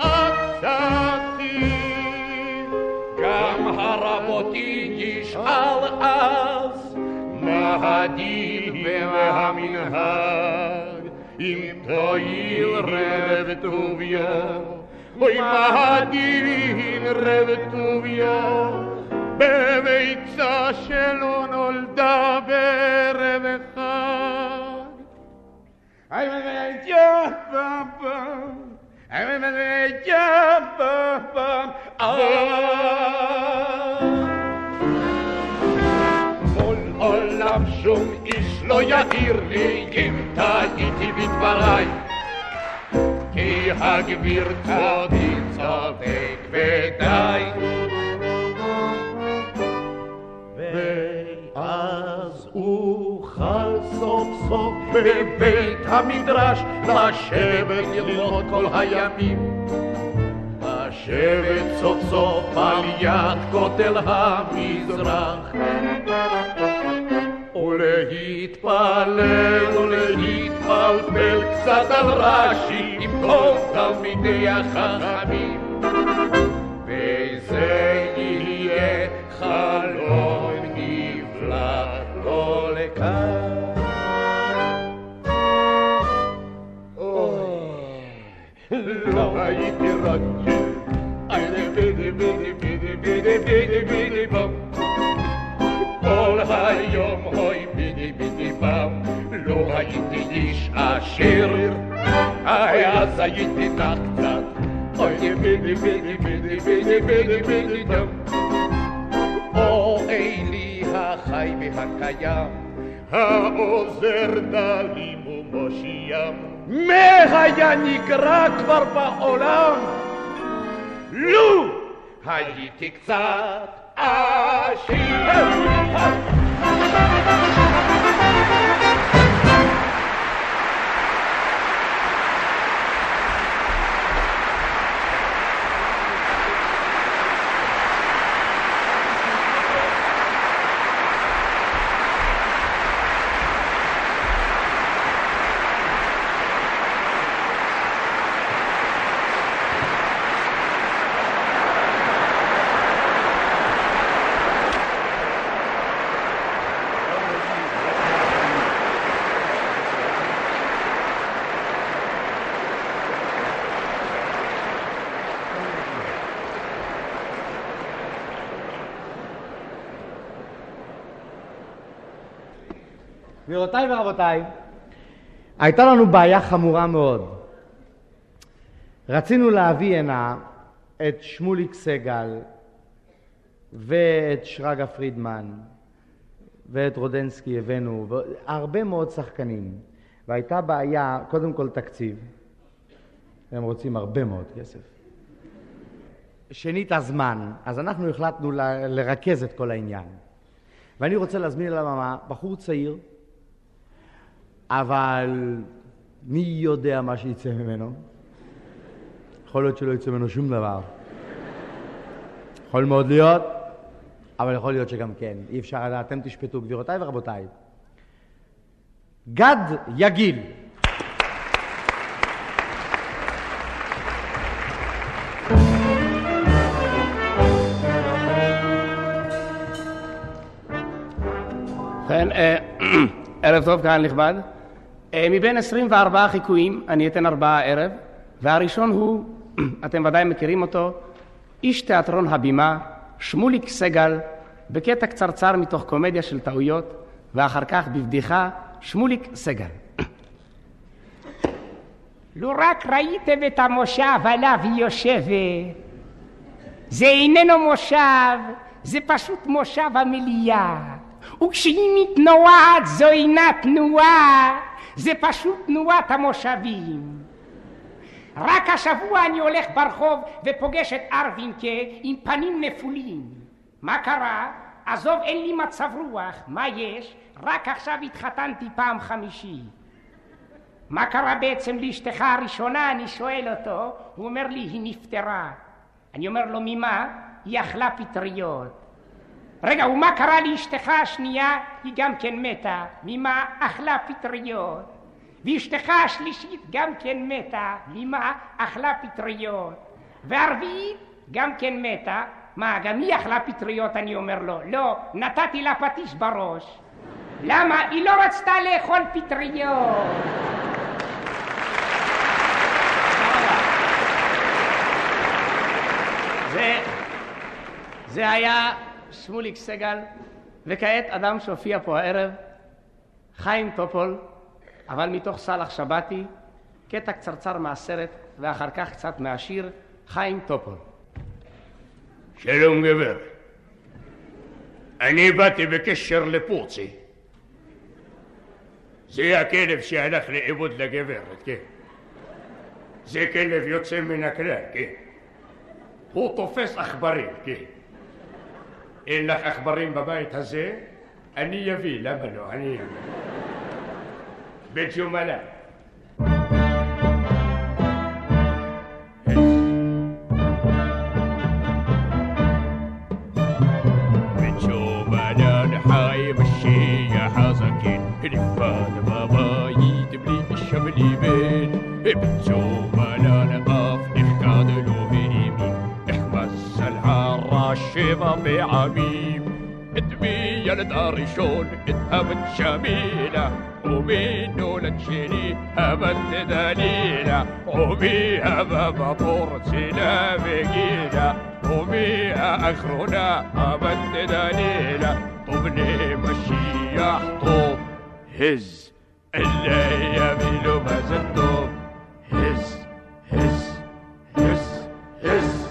בעצתי, גם הרבותי ישאל אז מה הדין והמנהג, אם תועיל רב טוביה. אוי מה הדין רב טוביה בביצה שלא נולדה בערב אחד. I'm a jump I'm a jump כל עולם שום איש לא יעיר לי אם טעיתי בדבריי, כי הגביר כבודי צודק ודי. ואז אוכל סוף סוף בבית המדרש לשבת ללמוד כל הימים, לשבת סוף סוף על יד כותל המזרח, ולהתפלל ולהתפלפל קצת על רש"י עם כל תלמידי החכמים, וזה יהיה חלום נפלא כל כך. לא הייתי רגיל, הייתי בידי בידי בידי בידי בידי בידי בם, כל היום הוי בידי בידי בם. לא הייתי איש עשיר, אז הייתי נח קצת, אוי בידי בידי בידי בידי בידי בידי דם. או אלי החי והקיים, העוזר דלים ומושיעם, מה היה נקרא כבר בעולם לו הייתי קצת עשיר. גבירותיי ורבותיי, הייתה לנו בעיה חמורה מאוד. רצינו להביא הנה את שמוליק סגל ואת שרגא פרידמן ואת רודנסקי הבאנו, והרבה מאוד שחקנים. והייתה בעיה, קודם כל תקציב. הם רוצים הרבה מאוד כסף. שנית הזמן, אז אנחנו החלטנו ל- לרכז את כל העניין. ואני רוצה להזמין אל הבמה בחור צעיר, אבל מי יודע מה שיצא ממנו? יכול להיות שלא יצא ממנו שום דבר. יכול מאוד להיות, אבל יכול להיות שגם כן. אי אפשר לדעת, אתם תשפטו, גבירותיי ורבותיי. גד יגיל. כן, ערב טוב קהל נכבד. מבין עשרים וארבעה חיקויים אני אתן ארבעה ערב, והראשון הוא, אתם ודאי מכירים אותו, איש תיאטרון הבימה, שמוליק סגל, בקטע קצרצר מתוך קומדיה של טעויות, ואחר כך בבדיחה, שמוליק סגל. לו רק ראיתם את המושב עליו היא יושבת, זה איננו מושב, זה פשוט מושב המליאה. וכשהיא מתנועת זו אינה תנועה, זה פשוט תנועת המושבים. רק השבוע אני הולך ברחוב ופוגש את ארווינקה עם פנים נפולים. מה קרה? עזוב, אין לי מצב רוח. מה יש? רק עכשיו התחתנתי פעם חמישי. מה קרה בעצם לאשתך הראשונה? אני שואל אותו. הוא אומר לי, היא נפטרה. אני אומר לו, ממה? היא אכלה פטריות. רגע, ומה קרה לאשתך השנייה? היא גם כן מתה. ממה? אכלה פטריות. ואשתך השלישית גם כן מתה. ממה? אכלה פטריות. והרביעית גם כן מתה. מה, גם היא אכלה פטריות? אני אומר לו, לא, נתתי לה פטיש בראש. למה? היא לא רצתה לאכול פטריות. זה, זה היה שמוליק סגל, וכעת אדם שהופיע פה הערב, חיים טופול, אבל מתוך סלח שבתי, קטע קצרצר מהסרט, ואחר כך קצת מהשיר, חיים טופול. שלום גבר, אני באתי בקשר לפורצי. זה הכלב שהלך לאיבוד לגברת, כן. זה כלב יוצא מן הכלל, כן. הוא תופס עכברים, כן. אין לך עכברים בבית הזה? אני אביא, למה לא? אני אביא. בית יומלה. حي مشي يا حزكين الفان بابا يتبلي الشملي بين بنتو مالا نقف نحكاد الوهيمي احمس الحارة الشيبة بعميم ادمي يا لدار شون اتهبت شميلة ومنو لتشيني هبت دليلة ومي هبا بطور سلا بقيلة ومي اخرنا هبت دليلة طبني مشيح طوب هز اللي يميلوا ما زدوب هز هز هز هز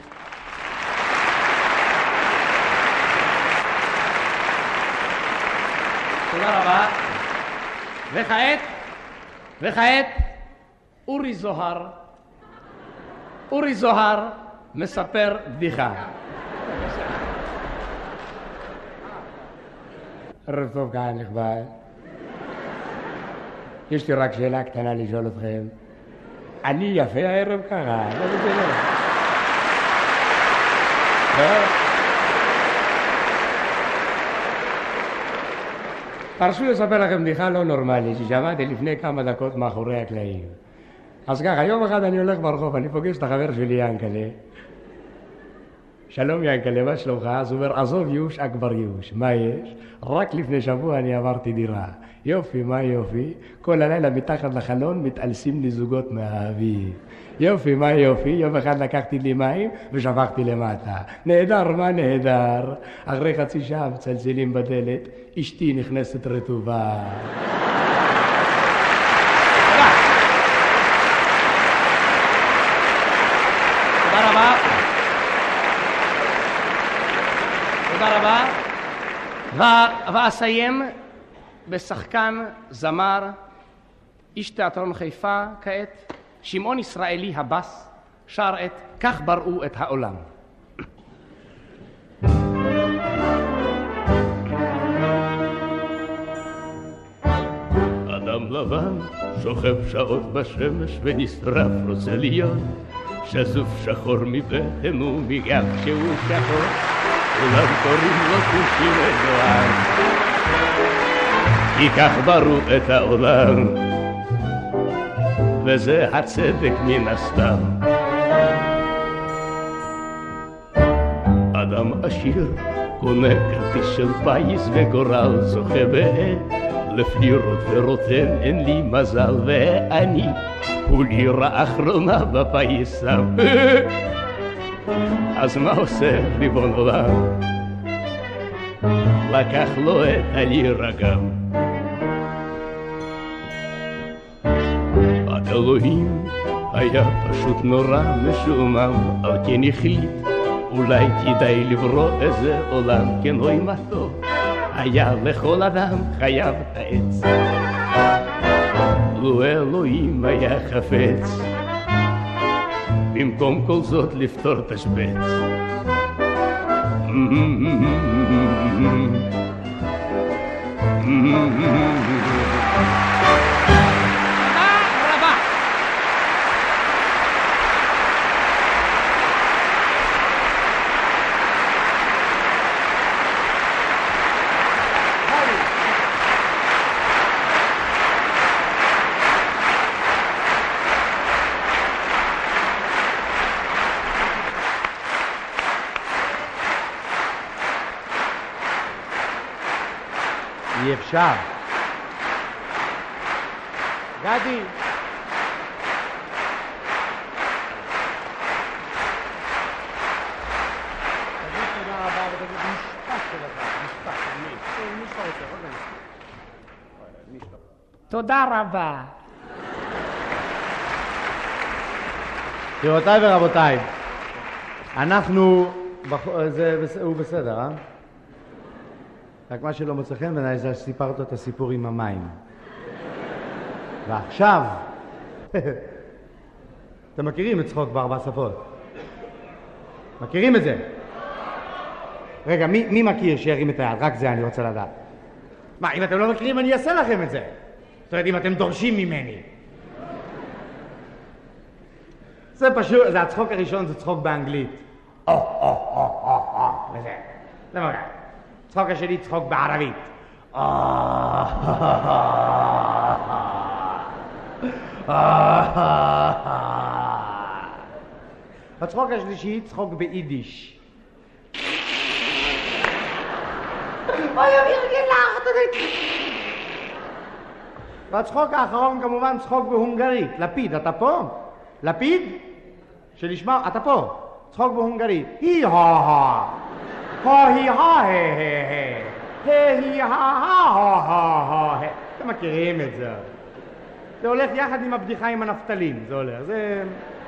תודה רבה. וכעת, וכעת, אורי זוהר, אורי זוהר מספר בדיחה. ערב טוב, קהל נכבד. יש לי רק שאלה קטנה לשאול אתכם. אני יפה הערב ככה? לא בסדר. תרשו לספר לכם בדיחה לא נורמלית ששמעתי לפני כמה דקות מאחורי הקלעים. אז ככה, יום אחד אני הולך ברחוב, אני פוגש את החבר שלי ינקלה. שלום ינקלה, מה שלומך? אז הוא אומר, עזוב יוש, אכבר יוש. מה יש? רק לפני שבוע אני עברתי דירה. יופי, מה יופי? כל הלילה מתחת לחלון מתעלסים לי זוגות מהאביב. יופי, מה יופי? יום אחד לקחתי לי מים ושפכתי למטה. נהדר, מה נהדר? אחרי חצי שעה מצלצלים בדלת, אשתי נכנסת רטובה. תודה רבה. תודה רבה. ואסיים בשחקן, זמר, איש תיאטרון חיפה כעת, שמעון ישראלי הבס, שר את כך בראו את העולם. אדם לבן שוכב שעות בשמש ונשרף רוצה להיות שזוף שחור מבטן ומגב שהוא שחור כולם קוראים לו כושי וגואר כי כך בראו את העולם וזה הצדק מן הסתם. אדם עשיר קונה כרטיס של פייס וגורל זוכה בעת לפלירות ורוטן אין לי מזל ואני הוא לירה אחרונה בפייסה. אז מה עושה ריבון עולם? לקח לו את הלירה גם. אלוהים היה פשוט נורא משומם, על כן החליט אולי כדאי לברוא איזה עולם. כן אוי מה טוב היה לכל אדם חייב את העץ. לו אלוהים היה חפץ במקום כל זאת לפתור תשבץ. אי אפשר. גדי. תודה רבה. גבירותיי ורבותיי, אנחנו, הוא בסדר, אה? רק מה שלא מוצא חן בעיניי זה שסיפרת את הסיפור עם המים. ועכשיו, אתם מכירים את צחוק בארבע שפות? מכירים את זה? רגע, מי, מי מכיר שירים את היד? רק זה אני רוצה לדעת. מה, אם אתם לא מכירים אני אעשה לכם את זה. זאת אומרת, אם אתם דורשים ממני. זה פשוט, זה הצחוק הראשון, זה צחוק באנגלית. או, או, או, או, או, וזה. זה מגע. צחוק השני צחוק בערבית. הצחוק השלישי צחוק ביידיש. והצחוק האחרון כמובן צחוק בהונגרית. לפיד, אתה פה? לפיד? שלשמע, אתה פה. צחוק בהונגרית. הי הא הא הי הא הי הא הא הא. אתם מכירים את זה. זה הולך יחד עם הבדיחה עם הנפתלים. זה הולך. זה...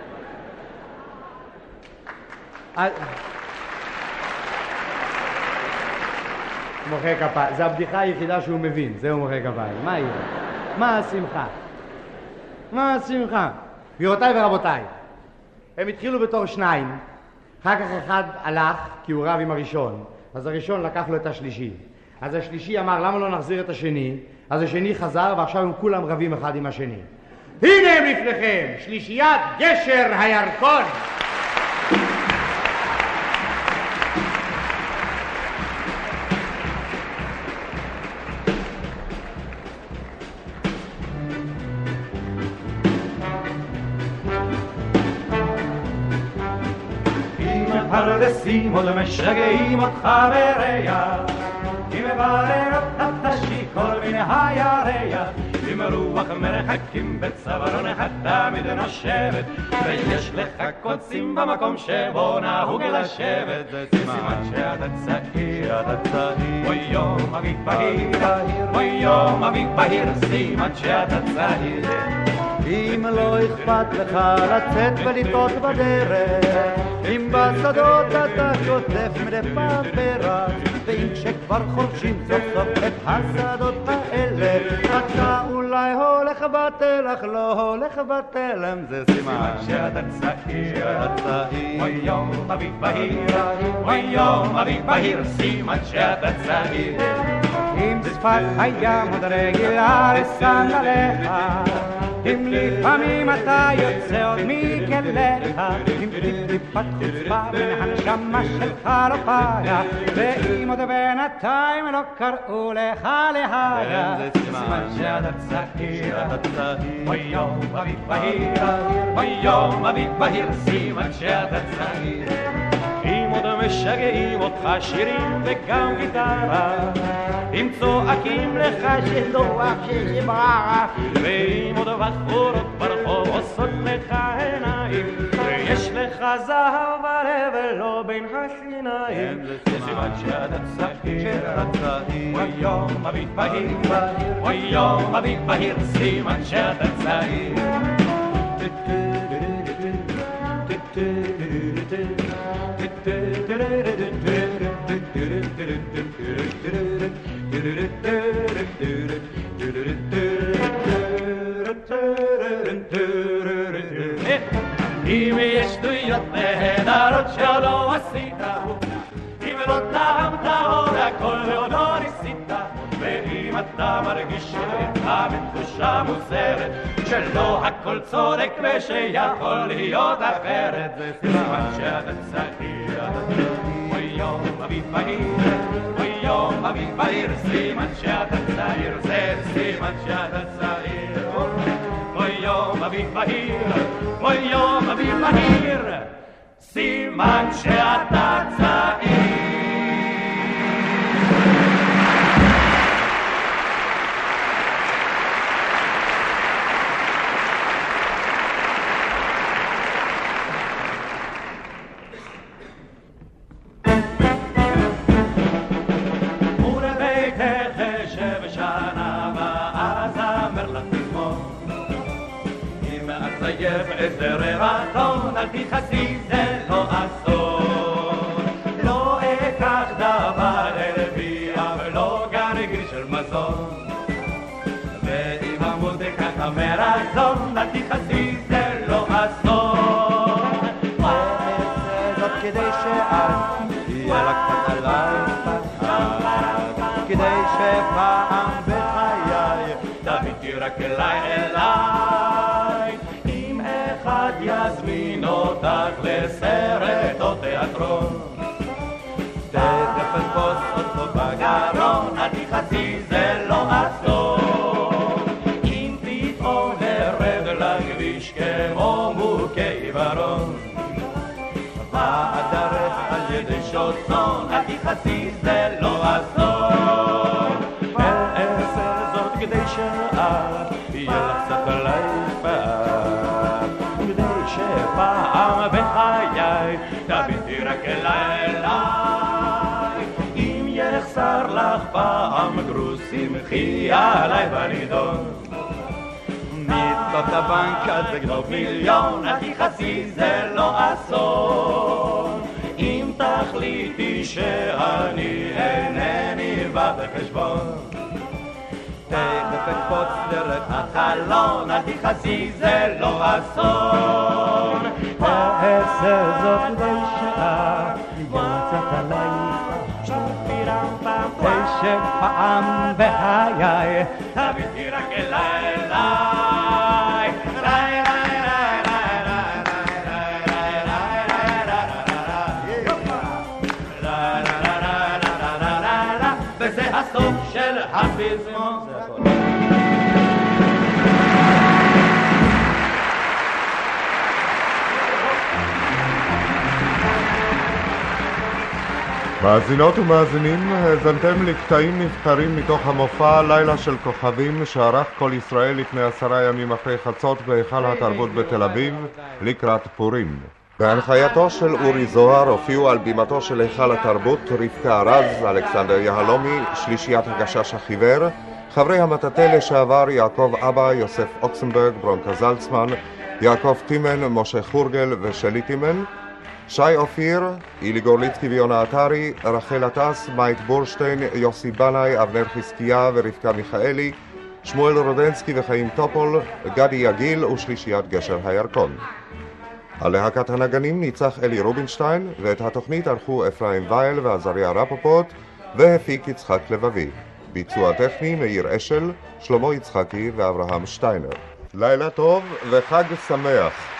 מוחא כפיים. זה הבדיחה היחידה שהוא מבין. זהו מוחא כפיים. מה יהיה? מה השמחה? מה השמחה? גבירותיי ורבותיי, הם התחילו בתור שניים, אחר כך אחד הלך כי הוא רב עם הראשון, אז הראשון לקח לו את השלישי. אז השלישי אמר למה לא נחזיר את השני, אז השני חזר ועכשיו הם כולם רבים אחד עם השני. הנה הם לפניכם, שלישיית גשר הירקון. פרדסים עוד משגעים אותך בריח, אם מברר אותך תשיכור מן הירח, עם רוח מרחקים בצווארון תמיד נושבת, ויש לך קוצים במקום שבו נהוג לשבת, זה סימן שאתה צעיר, אתה צעיר, אוי יום אביב בהיר, אוי יום אביב בהיר, סימן שאתה צעיר. אם לא אכפת לך לצאת ולטעות בדרך, אם בשדות אתה שוטף מדי פעם ורק, ואם כשכבר חורשים סוף סוף את השדות האלה, אתה אולי הולך בטל, אך לא הולך בתלם, זה סימן שאתה צעיר, אתה צעיר, אוי יום אביב בהיר, אוי יום אביב בהיר, סימן שאתה צעיר. אם שפת הים עוד רגילה לסנדליך, אם לפעמים אתה יוצא עוד מכליך, אם טיפת חוצפה מן הנשמה שלך לא פגע, ואם עוד בינתיים לא קראו לך להגה, זה סימן שאתה צעיר, אתה צעיר, אוי יום אביב בהיר, אוי יום אביב בהיר, סימן שאתה צעיר. אם עוד משגעים אותך שירים וגם גיטרה, אם צועקים לך שדוח ששברה, ואם עוד בחורות ברחוב עושות לך עיניים, ויש לך זהב בלב ולא בין השיניים, זה סימן שאתה צעיר, אתה צעיר, אוי יום אביב בהיר, אוי יום אביב בהיר, סימן שאתה צעיר. אם יש אם לא טעמת עוד הכל ועוד לא ניסית, ואם אתה מרגיש שאיתך בתחושה מוזרת, שלא הכל צודק ושיכול להיות אחרת, זה סימן שאתה צעיר. אוי יום אביב בהיר, אוי יום אביב בהיר, סימן שאתה צעיר, זה סימן שאתה צעיר. אוי יום אביב בהיר, אוי יום אביב בהיר, סימן שאתה צעיר. איזה רעתון, אל תכעסי, זה לא אסון. לא אקח דבר הרביע ולא גרגרי של מזון, ואם המוזיקה כמרזון, אל תכעסי, זה לא אסון. ואעשה זאת כדי שאת תהיה לה קצת עליי פחד, כדי שפעם בחיי תביטי רק אליי אליי. אחד יזמין אותך לסרט או תיאטרון, תכף אתפוס אותו בגרון, אל תכעסי, זה לא אסון. אם פתאום נרד לכביש כמו מוכה עיוורון, ואדרך על ידי שוט צאן, אל תכעסי, זה לא אסון. ואעשה זאת כדי שאת תהיה לך קצת עליי פחד, שפעם בחיי תביטי רק אליי אליי. אם יחסר לך פעם גרוש, שמחי עליי בנידון, מיטות הבנק אז תגנוב מיליון, אל תכעסי, זה לא אסון. אם תחליטי שאני אינני בא בחשבון, תכף אקפוץ דרך החלון, אל תכעסי, זה לא אסון. ואעשה זאת כדי שאת תהיה קצת עליי פחד, כדי שפעם בחיי תביטי רק אליי אליי. ריי ריי ריי ריי ריי ריי ריי ריי, וזה הסוף של הפזמון. מאזינות ומאזינים, האזנתם לקטעים נבחרים מתוך המופע לילה של כוכבים שערך כל ישראל לפני עשרה ימים אחרי חצות בהיכל התרבות בתל אביב לקראת פורים. בהנחייתו של אורי זוהר הופיעו על בימתו של היכל התרבות רבקה ארז, אלכסנדר יהלומי, שלישיית הגשש החיוור, חברי המטאטא לשעבר יעקב אבא, יוסף אוקסנברג, ברונקה זלצמן, יעקב טימן, משה חורגל ושלי טימן, שי אופיר, אילי גורליצקי ויונה עטרי, רחל עטס, מייק בורשטיין, יוסי בנאי, אבנר חזקיה ורבקה מיכאלי, שמואל רודנסקי וחיים טופול, גדי יגיל ושלישיית גשר הירקון. על להקת הנגנים ניצח אלי רובינשטיין, ואת התוכנית ערכו אפרים וייל ועזריה רפופוט, והפיק יצחק לבבי. ביצוע טכני מאיר אשל, שלמה יצחקי ואברהם שטיינר. לילה טוב וחג שמח.